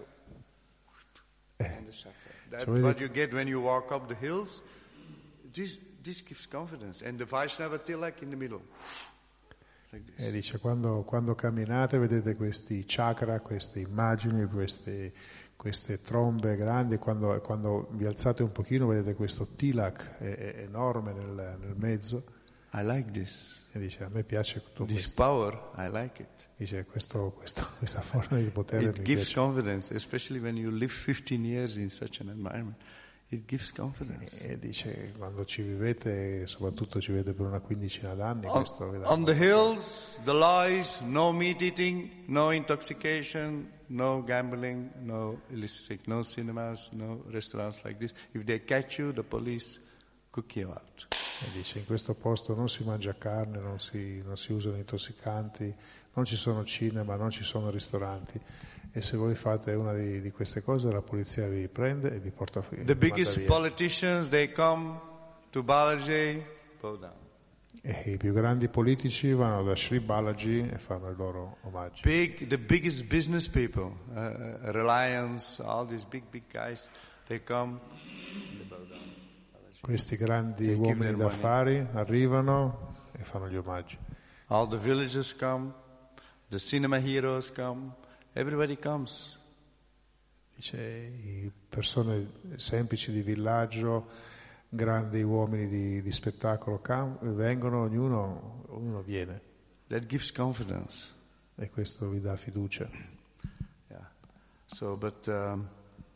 Eh. That's cioè, what you get when you walk up the hills. This, this gives confidence. And the Vaishnava Tilak in the middle. Like this. E dice, quando, quando camminate vedete questi chakra, queste immagini, queste, queste trombe grandi, quando, quando vi alzate un pochino vedete questo tilak è, è enorme nel, nel mezzo. I like this. E dice, a me piace tutto this questo. Power, I like it. Dice, questo, questo, questa forma di potere it mi gives piace. Confidence, especially when you live fifteen years in such an environment. It gives confidence. E dice, quando ci vivete, soprattutto ci vivete per una quindicina d'anni, on, questo vi dà on the hills, the laws, no meat eating, no intoxication, no gambling, no illicit, no cinemas, no restaurants like this. If they catch you, the police cook you out. E dice, in questo posto non si mangia carne, non si, non si usano intossicanti, non ci sono cinema, non ci sono ristoranti. E se voi fate una di, di queste cose, la polizia vi prende e vi porta via. The biggest politicians, they come to Balaji, bow down. E i più grandi politici vanno da Sri Balaji e fanno il loro omaggio. Big, the biggest business people, uh, Reliance, all these big, big guys, they come, they bow down. Questi grandi they uomini d'affari arrivano e fanno gli omaggi. All the villagers come, the cinema heroes come. Everybody comes. Dice, i persone semplici di villaggio, grandi uomini di, di spettacolo cam- vengono, ognuno, ognuno viene. That gives confidence. E questo vi dà fiducia. Yeah. So, but um,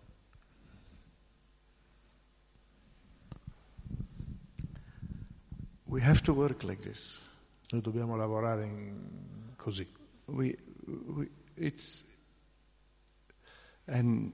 we have to work like this. Noi dobbiamo lavorare in, così. We, we, it's and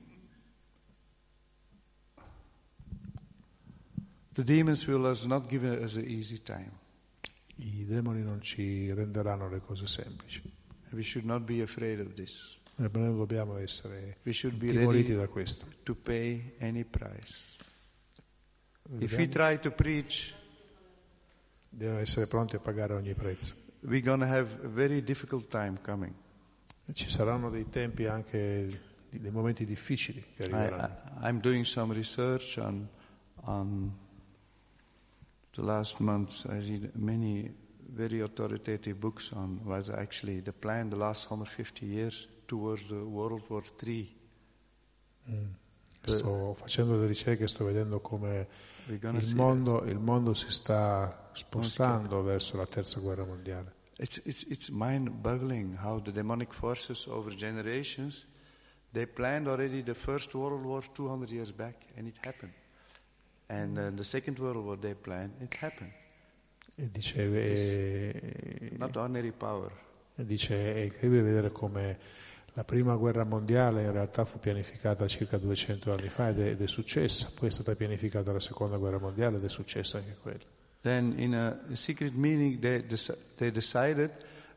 the demons will us not give us an easy time. I demoni non ci renderanno le cose semplici. We should not be afraid of this. Noi non dobbiamo essere we should be intimoriti ready da questo. To pay any price. Dobbiamo, If we try to preach, dobbiamo essere pronti a pagare ogni prezzo. We're going to have a very difficult time coming. Ci saranno dei tempi anche dei momenti difficili che arriveranno. I, I, I'm doing some research on on the last months. I read many very authoritative books on was actually the plan the last one hundred fifty years towards the World War Three. Mm. Sto facendo delle ricerche, sto vedendo come il mondo, il mondo si sta spostando verso la terza guerra mondiale. It's, it's, it's mind-boggling how the demonic forces over generations, they planned already the first World War two hundred years back, and it happened. And uh, the second World War they planned, it happened. E dice, eh, not ordinary power. E dice, è incredibile vedere come la prima guerra mondiale in realtà fu pianificata circa duecento anni fa ed è, ed è successa, poi è stata pianificata la seconda guerra mondiale ed è successa anche quella. Then in a secret meeting they, dec- they decided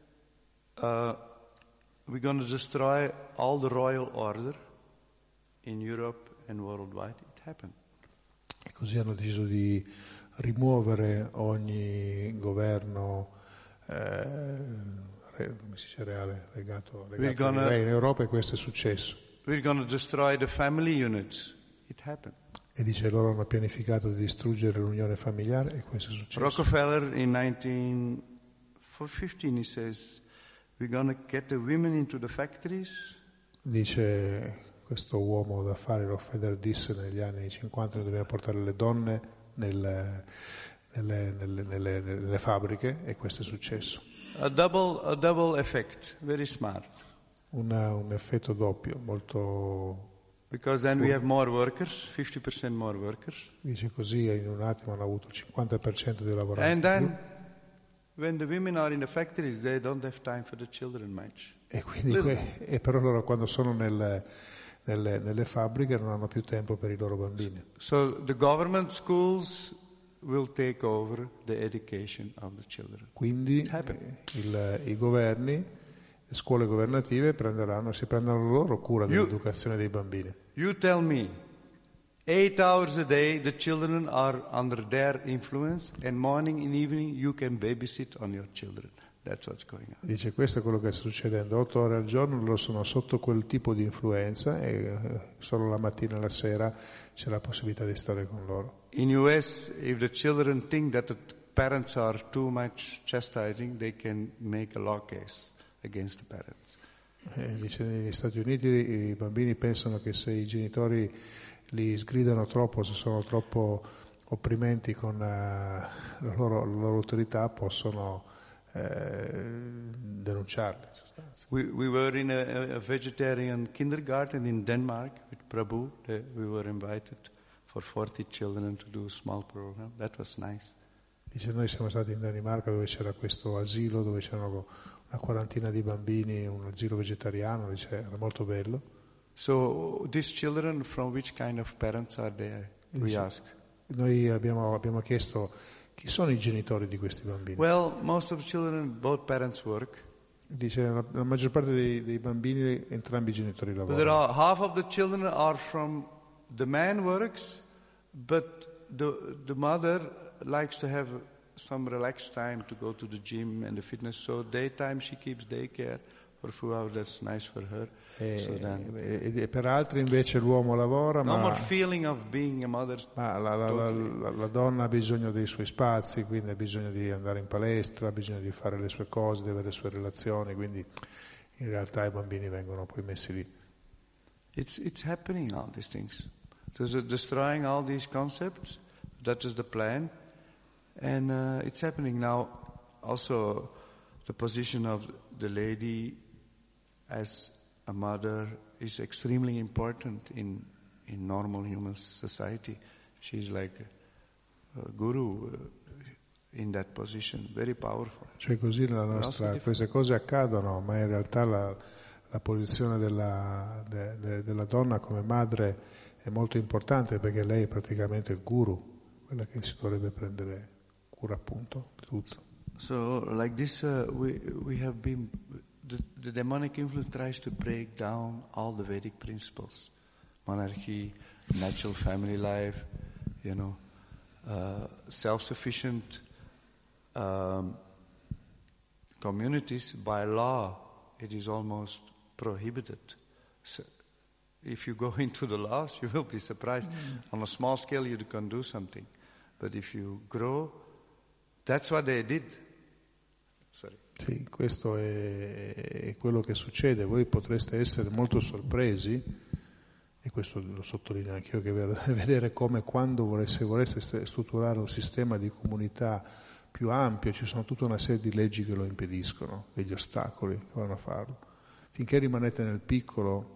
uh, we're going to destroy all the royal order in Europe and worldwide. It happened. E così hanno deciso di rimuovere ogni governo eh, come si dice reale, legato, legato gonna, ai re in Europa, e questo è successo. We're going to destroy the family units. It happened. E dice loro hanno pianificato di distruggere l'unione familiare e questo è successo. Rockefeller in nineteen fifteen he says we're going to get the women into the factories. Dice questo uomo d'affari Rockefeller disse negli anni cinquanta che dobbiamo portare le donne nel, nelle, nelle, nelle, nelle fabbriche e questo è successo. A double, a double effect, very smart. Una, un effetto doppio, molto... Because then we have more workers, fifty percent more workers. Dice così in un attimo hanno avuto il cinquanta per cento dei lavoratori. And then, when the women are in the factories, they don't have time for the children much. E quindi que- e però loro quando sono nelle, nelle, nelle fabbriche non hanno più tempo per i loro bambini. So the government schools will take over the education of the children. Quindi il, i governi, le scuole governative prenderanno, si prenderanno loro cura dell'educazione dei bambini. You tell me, eight hours a day the children are under their influence and morning and evening you can babysit on your children. That's what's going on. Dice questo è quello che sta succedendo, otto ore al giorno loro sono sotto quel tipo di influenza e solo la mattina e la sera c'è la possibilità di stare con loro. In U S, if the children think that the parents are too much chastising, they can make a law case against the parents. Eh, dice negli Stati Uniti i bambini pensano che se i genitori li sgridano troppo, se sono troppo opprimenti con uh, la, loro, la loro autorità, possono uh, denunciarli in sostanza. We, we were in a, a vegetarian kindergarten in Denmark with Prabhu. Uh, we were invited for forty children to do a small program. That was nice. Dice noi siamo stati in Danimarca dove c'era questo asilo, dove c'erano una quarantina di bambini, un asilo vegetariano, dice, era molto bello. So these children, from which kind of parents are they? We asked. Noi abbiamo, abbiamo chiesto chi sono i genitori di questi bambini. Well, most of the children, both parents work. Dice la, la maggior parte dei, dei bambini, entrambi i genitori lavorano. There are half of the children are from the man works, but the the mother likes to have some relaxed time to go to the gym and the fitness. So daytime she keeps daycare for a few hours. That's nice for her. E, so then, e, e per altri invece l'uomo lavora, no ma, more feeling of being a mother. ma la, la, totally. la, la, la donna ha bisogno dei suoi spazi, quindi ha bisogno di andare in palestra, ha bisogno di fare le sue cose, di avere le sue relazioni, quindi in realtà i bambini vengono poi messi lì. It's it's happening, all these things. There's a destroying all these concepts. That is the plan. And uh, it's happening now. Also, the position of the lady as a mother is extremely important in in normal human society. She's like a, a guru uh, in that position, very powerful. Cioè così la nostra, queste cose accadono, ma in realtà la, la posizione della, de, de, della donna come madre è molto importante perché lei è praticamente il guru, quella che si dovrebbe prendere cura appunto di tutto. So like this uh, we we have been the, the demonic influence tries to break down all the Vedic principles, monarchy, natural family life, you know, uh, self-sufficient um, communities. By law it is almost prohibited. So if you go into the laws you will be surprised. Mm. On a small scale you can do something, but if you grow, that's what they did. Sorry. Sì, questo è, è quello che succede. Voi potreste essere molto sorpresi, e questo lo sottolineo anch'io, che vedere come quando volesse, volesse strutturare un sistema di comunità più ampio, ci sono tutta una serie di leggi che lo impediscono, degli ostacoli che vanno a farlo. Finché rimanete nel piccolo,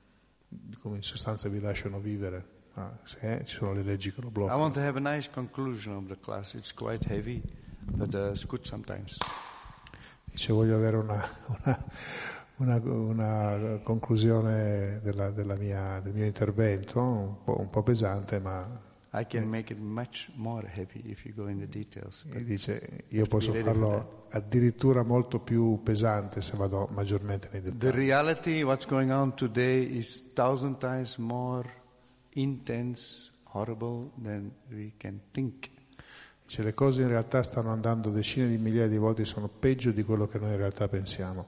come in sostanza vi lasciano vivere, ah, se, eh, ci sono le leggi che lo bloccano. I want to have a nice conclusion of the class. It's quite heavy. but uh, it's good sometimes. Dice, voglio avere una, una, una, una conclusione della, della mia, del mio intervento, un po', un po' pesante, ma... I can make it much more heavy if you go in the details. E dice, io posso farlo addirittura molto più pesante se vado maggiormente nei dettagli. The reality, what's going on today, is thousand times more intense, horrible than we can think. Dice, le cose in realtà stanno andando decine di migliaia di volte, sono peggio di quello che noi in realtà pensiamo.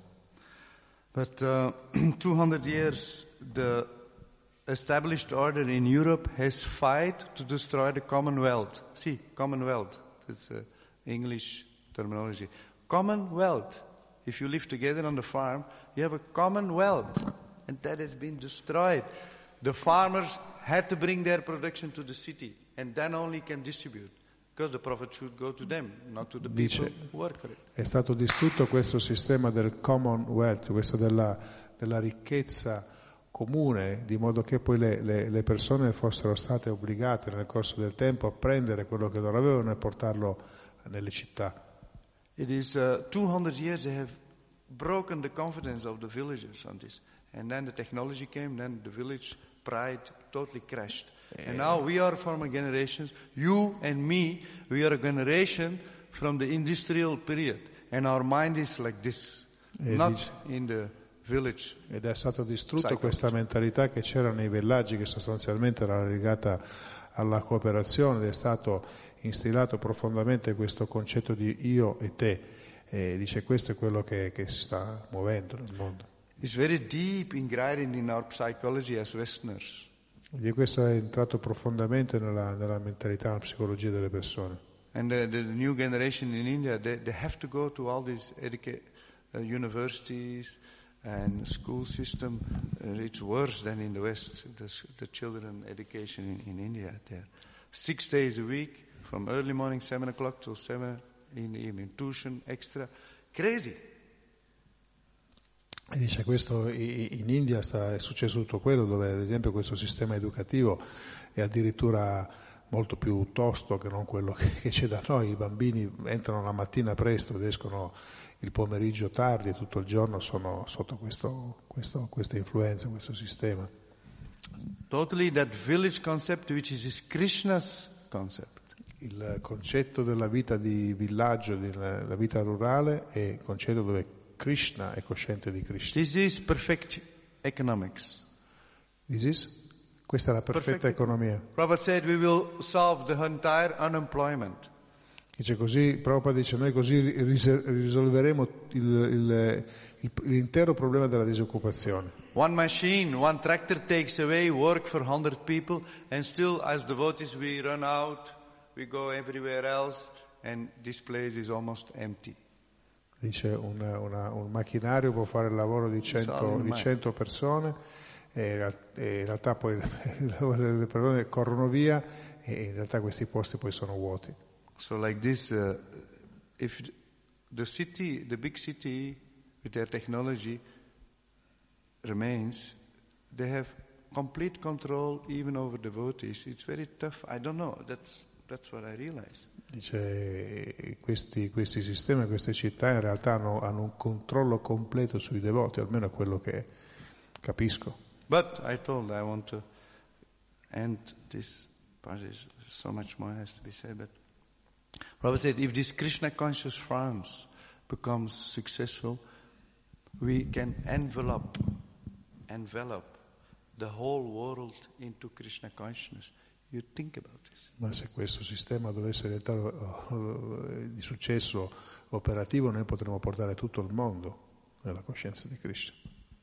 But uh, two hundred years, the established order in Europe has fought to destroy the Commonwealth. See, Commonwealth, that's uh, English terminology. Commonwealth. If you live together on the farm, you have a Commonwealth, and that has been destroyed. The farmers had to bring their production to the city, and then only can distribute. Because the profit should go to them, not to the people Dice, who work for it. è stato distrutto questo sistema del Commonwealth, questo della, della ricchezza comune, di modo che poi le, le, le persone fossero state obbligate nel corso del tempo a prendere quello che loro avevano e portarlo nelle città. It is uh, two hundred years they have broken the confidence of the villagers on this. And then the technology came, then the village pride totally crashed. And now we are from a generation, you and me, we are a generation from the industrial period. And our mind is like this, E not dice, in the village. ed è stata distrutta Cycle. questa mentalità che c'era nei villaggi, che sostanzialmente era legata alla cooperazione, ed è stato instillato profondamente questo concetto di io e te. E dice, questo è quello che, che si sta muovendo nel mondo. It's very deep ingrained in our psychology as Westerners. E questo è entrato profondamente nella, nella mentalità, nella psicologia delle persone. And the, the new generation in India, they, they have to go to all these educa- uh, universities and school system. Uh, it's worse than in the West, the, the children education in, in India there. Six days a week, from early morning, seven o'clock till seven in the evening. Tuition, extra. Crazy. E dice, questo in India sta, è successo tutto quello, dove ad esempio questo sistema educativo è addirittura molto più tosto che non quello che, che c'è da noi. I bambini entrano la mattina presto ed escono il pomeriggio tardi e tutto il giorno sono sotto questo, questo, questa influenza, questo sistema. Totally that village concept which is Krishna's concept. Il concetto della vita di villaggio, della vita rurale, è il concetto dove Krishna è cosciente di Krishna. This is perfect economics. This is? Questa è la perfetta Perfect. economia. Prabhupada said we will solve the entire unemployment. Dice così, Prabhupada dice, noi così ris- risolveremo il, il, il, l'intero problema della disoccupazione. One machine, one tractor takes away work for one hundred people, and still as devotees we run out, we go everywhere else, and this place is almost empty. Dice una, una, un macchinario può fare il lavoro di cento, di cento persone e, e in realtà poi le persone corrono via e in realtà questi posti poi sono vuoti. So like this, uh, if the city, the big city with their technology remains, they have complete control even over devotees. It's very tough. I don't know. That's that's what I realize. Dice, questi, questi sistemi, queste città in realtà hanno, hanno un controllo completo sui devoti, almeno è quello che capisco. But I told I want to end this part. Is so much more has to be said. But Prabhupada said, if this Krishna conscious farms becomes successful, we can envelop, envelop the whole world into Krishna consciousness. You think about this. Ma se questo sistema dovesse diventare uh, di successo operativo, noi potremo portare tutto il mondo nella coscienza di Krishna.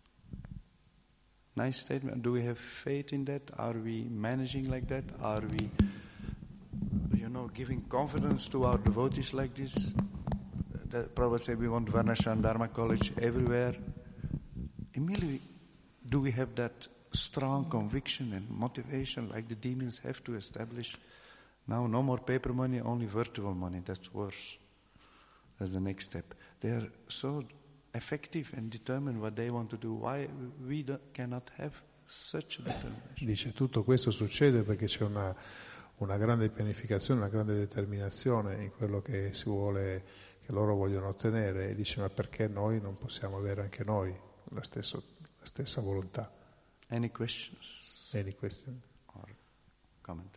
Nice statement. Do we have faith in that? Are we managing like that? Are we, you know, giving confidence to our devotees like this? The Prabhupada said we want Varnashram Dharma College everywhere. Immediately, do we have that strong conviction and motivation like the demons have to establish? Now no more paper money, only virtual money. That's worse. That's the next step. They are so effective and determined what they want to do. Why we do, cannot have such a determination? Dice, tutto questo succede perché c'è una, una grande pianificazione, una grande determinazione in quello che si vuole, che loro vogliono ottenere, e dice: ma perché noi non possiamo avere anche noi la, stesso, la stessa volontà? Any questions? Any question? Or comment?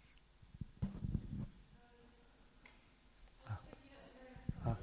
Ah. Ah.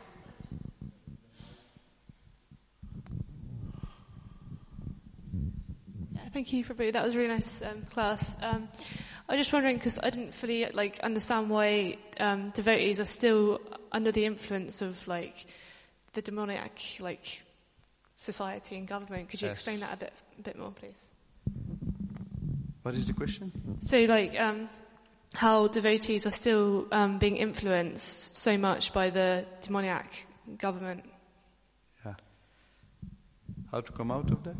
Yeah, thank you, Prabhu. That was a really nice um, class. Um, I was just wondering, because I didn't fully like understand why um, devotees are still under the influence of like the demoniac like society and government. Could you Yes. explain that a bit, a bit more, please? What is the question? So, like, um, how devotees are still um, being influenced so much by the demoniac government. Yeah. How to come out of that?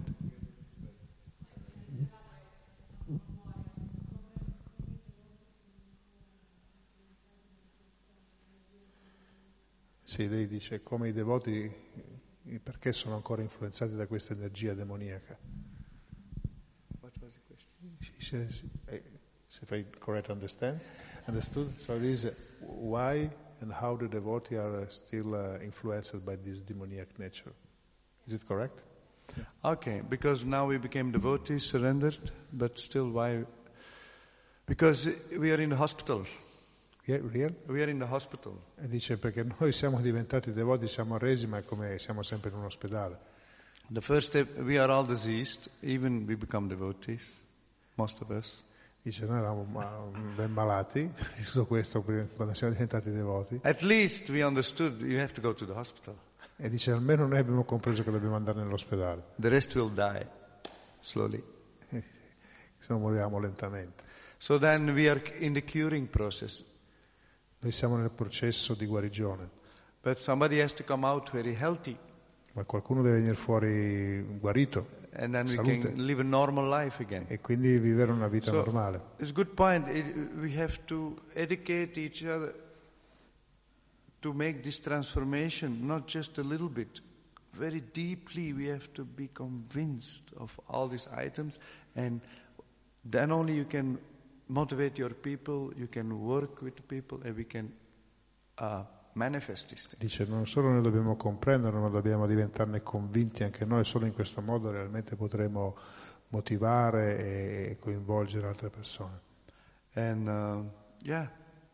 Sì, lei dice come i devoti, perché sono ancora influenzati da questa energia demoniaca. What was the question? She says, if I correct understand, understood, so this is why and how the devotee are still uh, influenced by this demoniac nature. Is it correct? Okay, because now we became devotees, surrendered, but still why? Because we are in the hospital. Yeah, real? We are in the hospital. E dice perché noi siamo diventati devoti, siamo resi, ma è come siamo sempre in un ospedale. The first step, we are all diseased, even we become devotees, most of us. Dice noi eravamo ma- ben malati di tutto questo prima- quando siamo diventati devoti. At least we understood you have to go to the hospital. E dice almeno noi abbiamo compreso che dobbiamo andare nell'ospedale, The rest will die, slowly. se no moriamo lentamente. So then we are in the curing process. Noi siamo nel processo di guarigione, But somebody has to come out very healthy. ma qualcuno deve venire fuori guarito, And then we salute, can live a normal life again. e quindi vivere una vita So, normale. it's a good point. It, we have to educate each other to make this transformation, not just a little bit. Very deeply we have to be convinced of all these items, and then only you can motivate your people, you can work with the people, and we can uh, manifest these things. Dice non solo noi dobbiamo comprendere, ma dobbiamo diventarne convinti anche noi, solo in questo modo realmente potremo motivare e coinvolgere altre persone. And uh, yeah,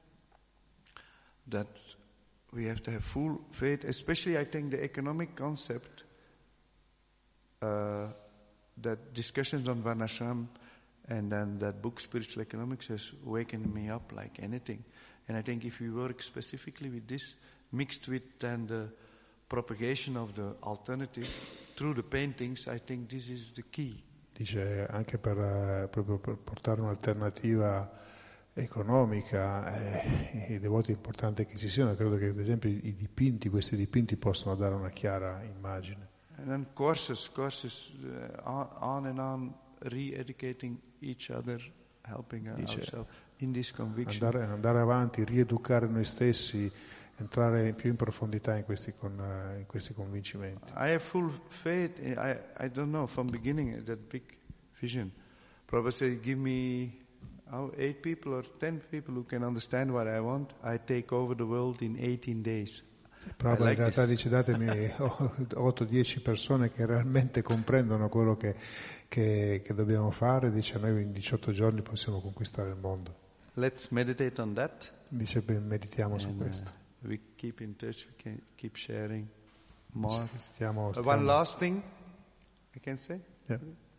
that we have to have full faith, especially I think the economic concept, uh, that discussions on Varnashram and then that book Spiritual Economics has wakened me up like anything. And I think if we work specifically with this, mixed with then the propagation of the alternative through the paintings, I think this is the key. Dice anche per, eh, proprio per portare un'alternativa economica, eh, i devoti è importante che ci siano, credo che ad esempio i dipinti, questi dipinti possono dare una chiara immagine. And then courses, courses, uh, on, on and on, re-educating each other, helping Dice, ourselves in this conviction. Andare, andare avanti, rieducare noi stessi, entrare più in profondità in questi, con, uh, in questi convincimenti. I have full faith. In, I I don't know from beginning that big vision. Prabhupada said, "Give me oh, eight people or ten people who can understand what I want. I take over the world in eighteen days." Proprio like in realtà this. dice datemi otto dieci persone che realmente comprendono quello che, che, che dobbiamo fare, dice noi in diciotto giorni possiamo conquistare il mondo. Let's meditate on that. Dice ben, meditiamo su And, uh, questo. we keep in touch. We can keep sharing more. Stiamo, Uh, stiamo, One last thing I can say. yeah.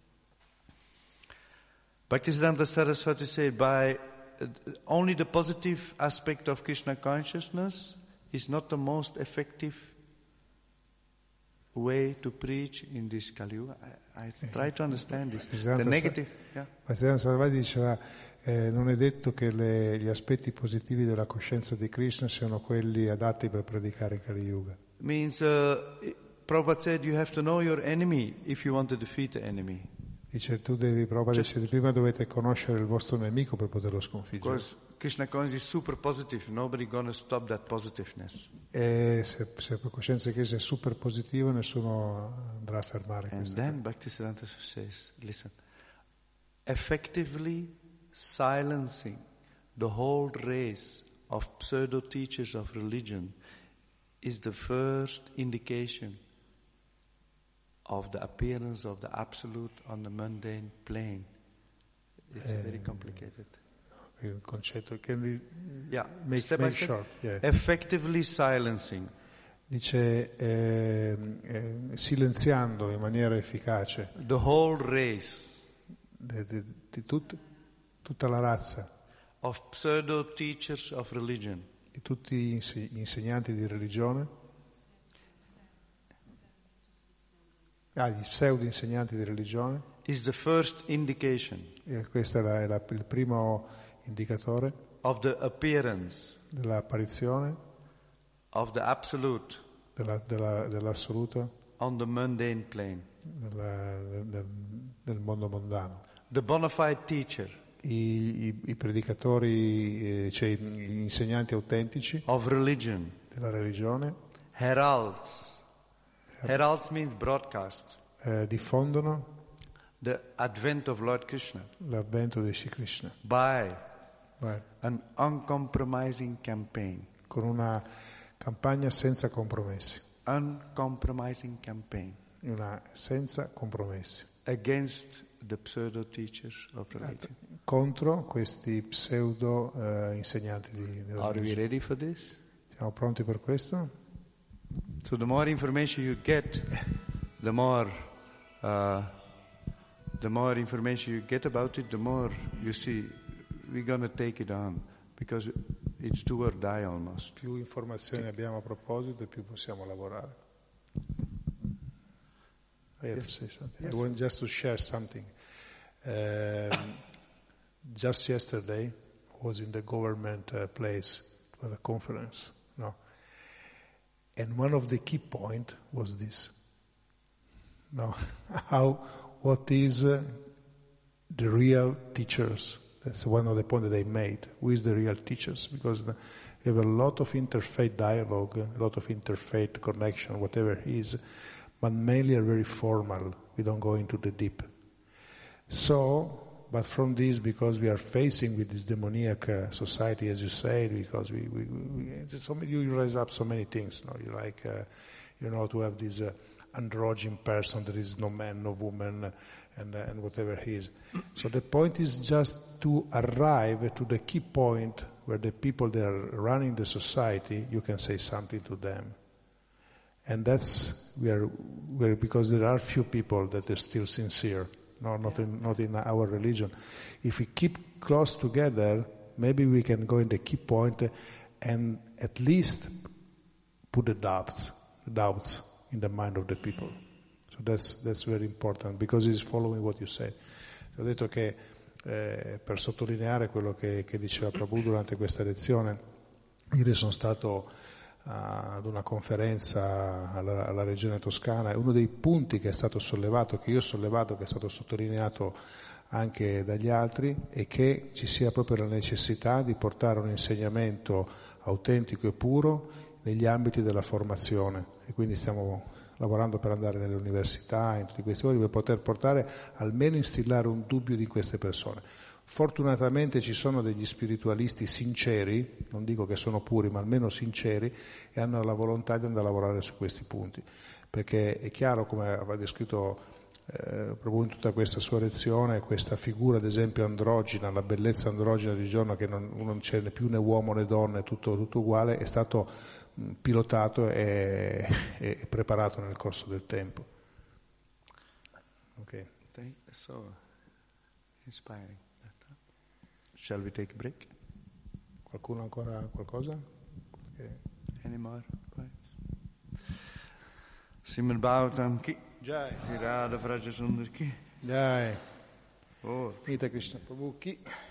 Bhaktisiddhanta Saraswati said, by uh, only the positive aspect of Krishna consciousness is not the most effective way to preach in this Kali Yuga. I, I try to understand this. The negative, yeah. Bhaktisiddhanta Saraswati diceva eh, non è detto che le, gli aspetti positivi della coscienza di Krishna siano quelli adatti per predicare Kali Yuga. Means, uh, Prabhupada said you have to know your enemy if you want to defeat the enemy. Dice tu devi provare, dice, prima dovete conoscere il vostro nemico per poterlo sconfiggere. Because Krishna consciousness is super positive. Nobody gonna stop that positiveness. E se, se per coscienza di Krishna è super positivo, nessuno andrà a fermare And questo. then Bhaktisiddhanta says, listen, effectively silencing the whole race of pseudo teachers of religion is the first indication of the appearance of the absolute on the mundane plane. It's Eh, very complicated. Il concetto can we Yeah, make, step by make step. short? Yeah. Effectively silencing Dice eh, eh, silenziando in maniera efficace the whole race di, di, di tut- tutta la razza, of pseudo teachers of religion di tutti gli inse- gli insegnanti di religione, ah, gli pseudo insegnanti di religione, is the first indication e questo è, la- è la- il primo indicatore of the appearance dell'apparizione of the absolute della, della, dell'assoluto on the mundane plane. della- del, del mondo mondano. The bona fide teacher I, i, i predicatori, eh, cioè gli insegnanti autentici of religion della religione heralds. Heralds means broadcast. eh, diffondono The advent of Lord Krishna l'avvento di Sri Krishna. by Vai. an uncompromising campaign. Con una campagna senza compromessi, Uncompromising campaign una senza compromessi, against the pseudo teachers of religion. contro questi pseudo eh, insegnanti di, della Are we religione. ready for this? Siamo pronti per questo? So the more information you get, the more uh, the more information you get about it, the more you see we're going to take it on, because it's do or die almost. Più informazioni abbiamo a proposito e più possiamo lavorare. I have to say something. I want just to share something. Um, just yesterday I was in the government uh, place for a conference, no? And one of the key point was this. No, how, what is uh, the real teachers? That's one of the points that they made. Who is the real teachers? Because the, we have a lot of interfaith dialogue, a lot of interfaith connection, whatever it is, but mainly are very formal. We don't go into the deep. So, but from this, because we are facing with this demoniac uh, society, as you said, because we, we, we it's so many, you raise up so many things. No, you like, uh, you know, to have this uh, androgyne person. There is no man, no woman, and uh, and whatever he is. So the point is just to arrive to the key point where the people that are running the society, you can say something to them. And that's where, where because there are few people that are still sincere. No, not in, not in our religion. If we keep close together, maybe we can go in the key point and at least put the doubts, doubts in the mind of the people. So that's, that's very important, because it's following what you said. Ho detto che, eh, per sottolineare quello che, che diceva Prabhu durante questa lezione, ieri sono stato ad una conferenza alla, alla regione toscana, e uno dei punti che è stato sollevato, che io ho sollevato, che è stato sottolineato anche dagli altri, è che ci sia proprio la necessità di portare un insegnamento autentico e puro negli ambiti della formazione, e quindi stiamo lavorando per andare nelle università, in tutti questi luoghi, per poter portare, almeno instillare un dubbio di queste persone. Fortunatamente ci sono degli spiritualisti sinceri, non dico che sono puri, ma almeno sinceri, e hanno la volontà di andare a lavorare su questi punti, perché è chiaro, come aveva descritto eh, proprio in tutta questa sua lezione, questa figura ad esempio androgina, la bellezza androgina di giorno, che non, non c'è né più né uomo né donna, è tutto, tutto uguale, è stato mh, pilotato e, e preparato nel corso del tempo. Ok. So inspiring. Shall we take a break? Qualcuno ancora qualcosa? Perché... Any more points? Srimad Bhagavatam ki Jai. Sri Radha Vraja Sundar ki Jai. Oh Nita Krishna Prabhu ki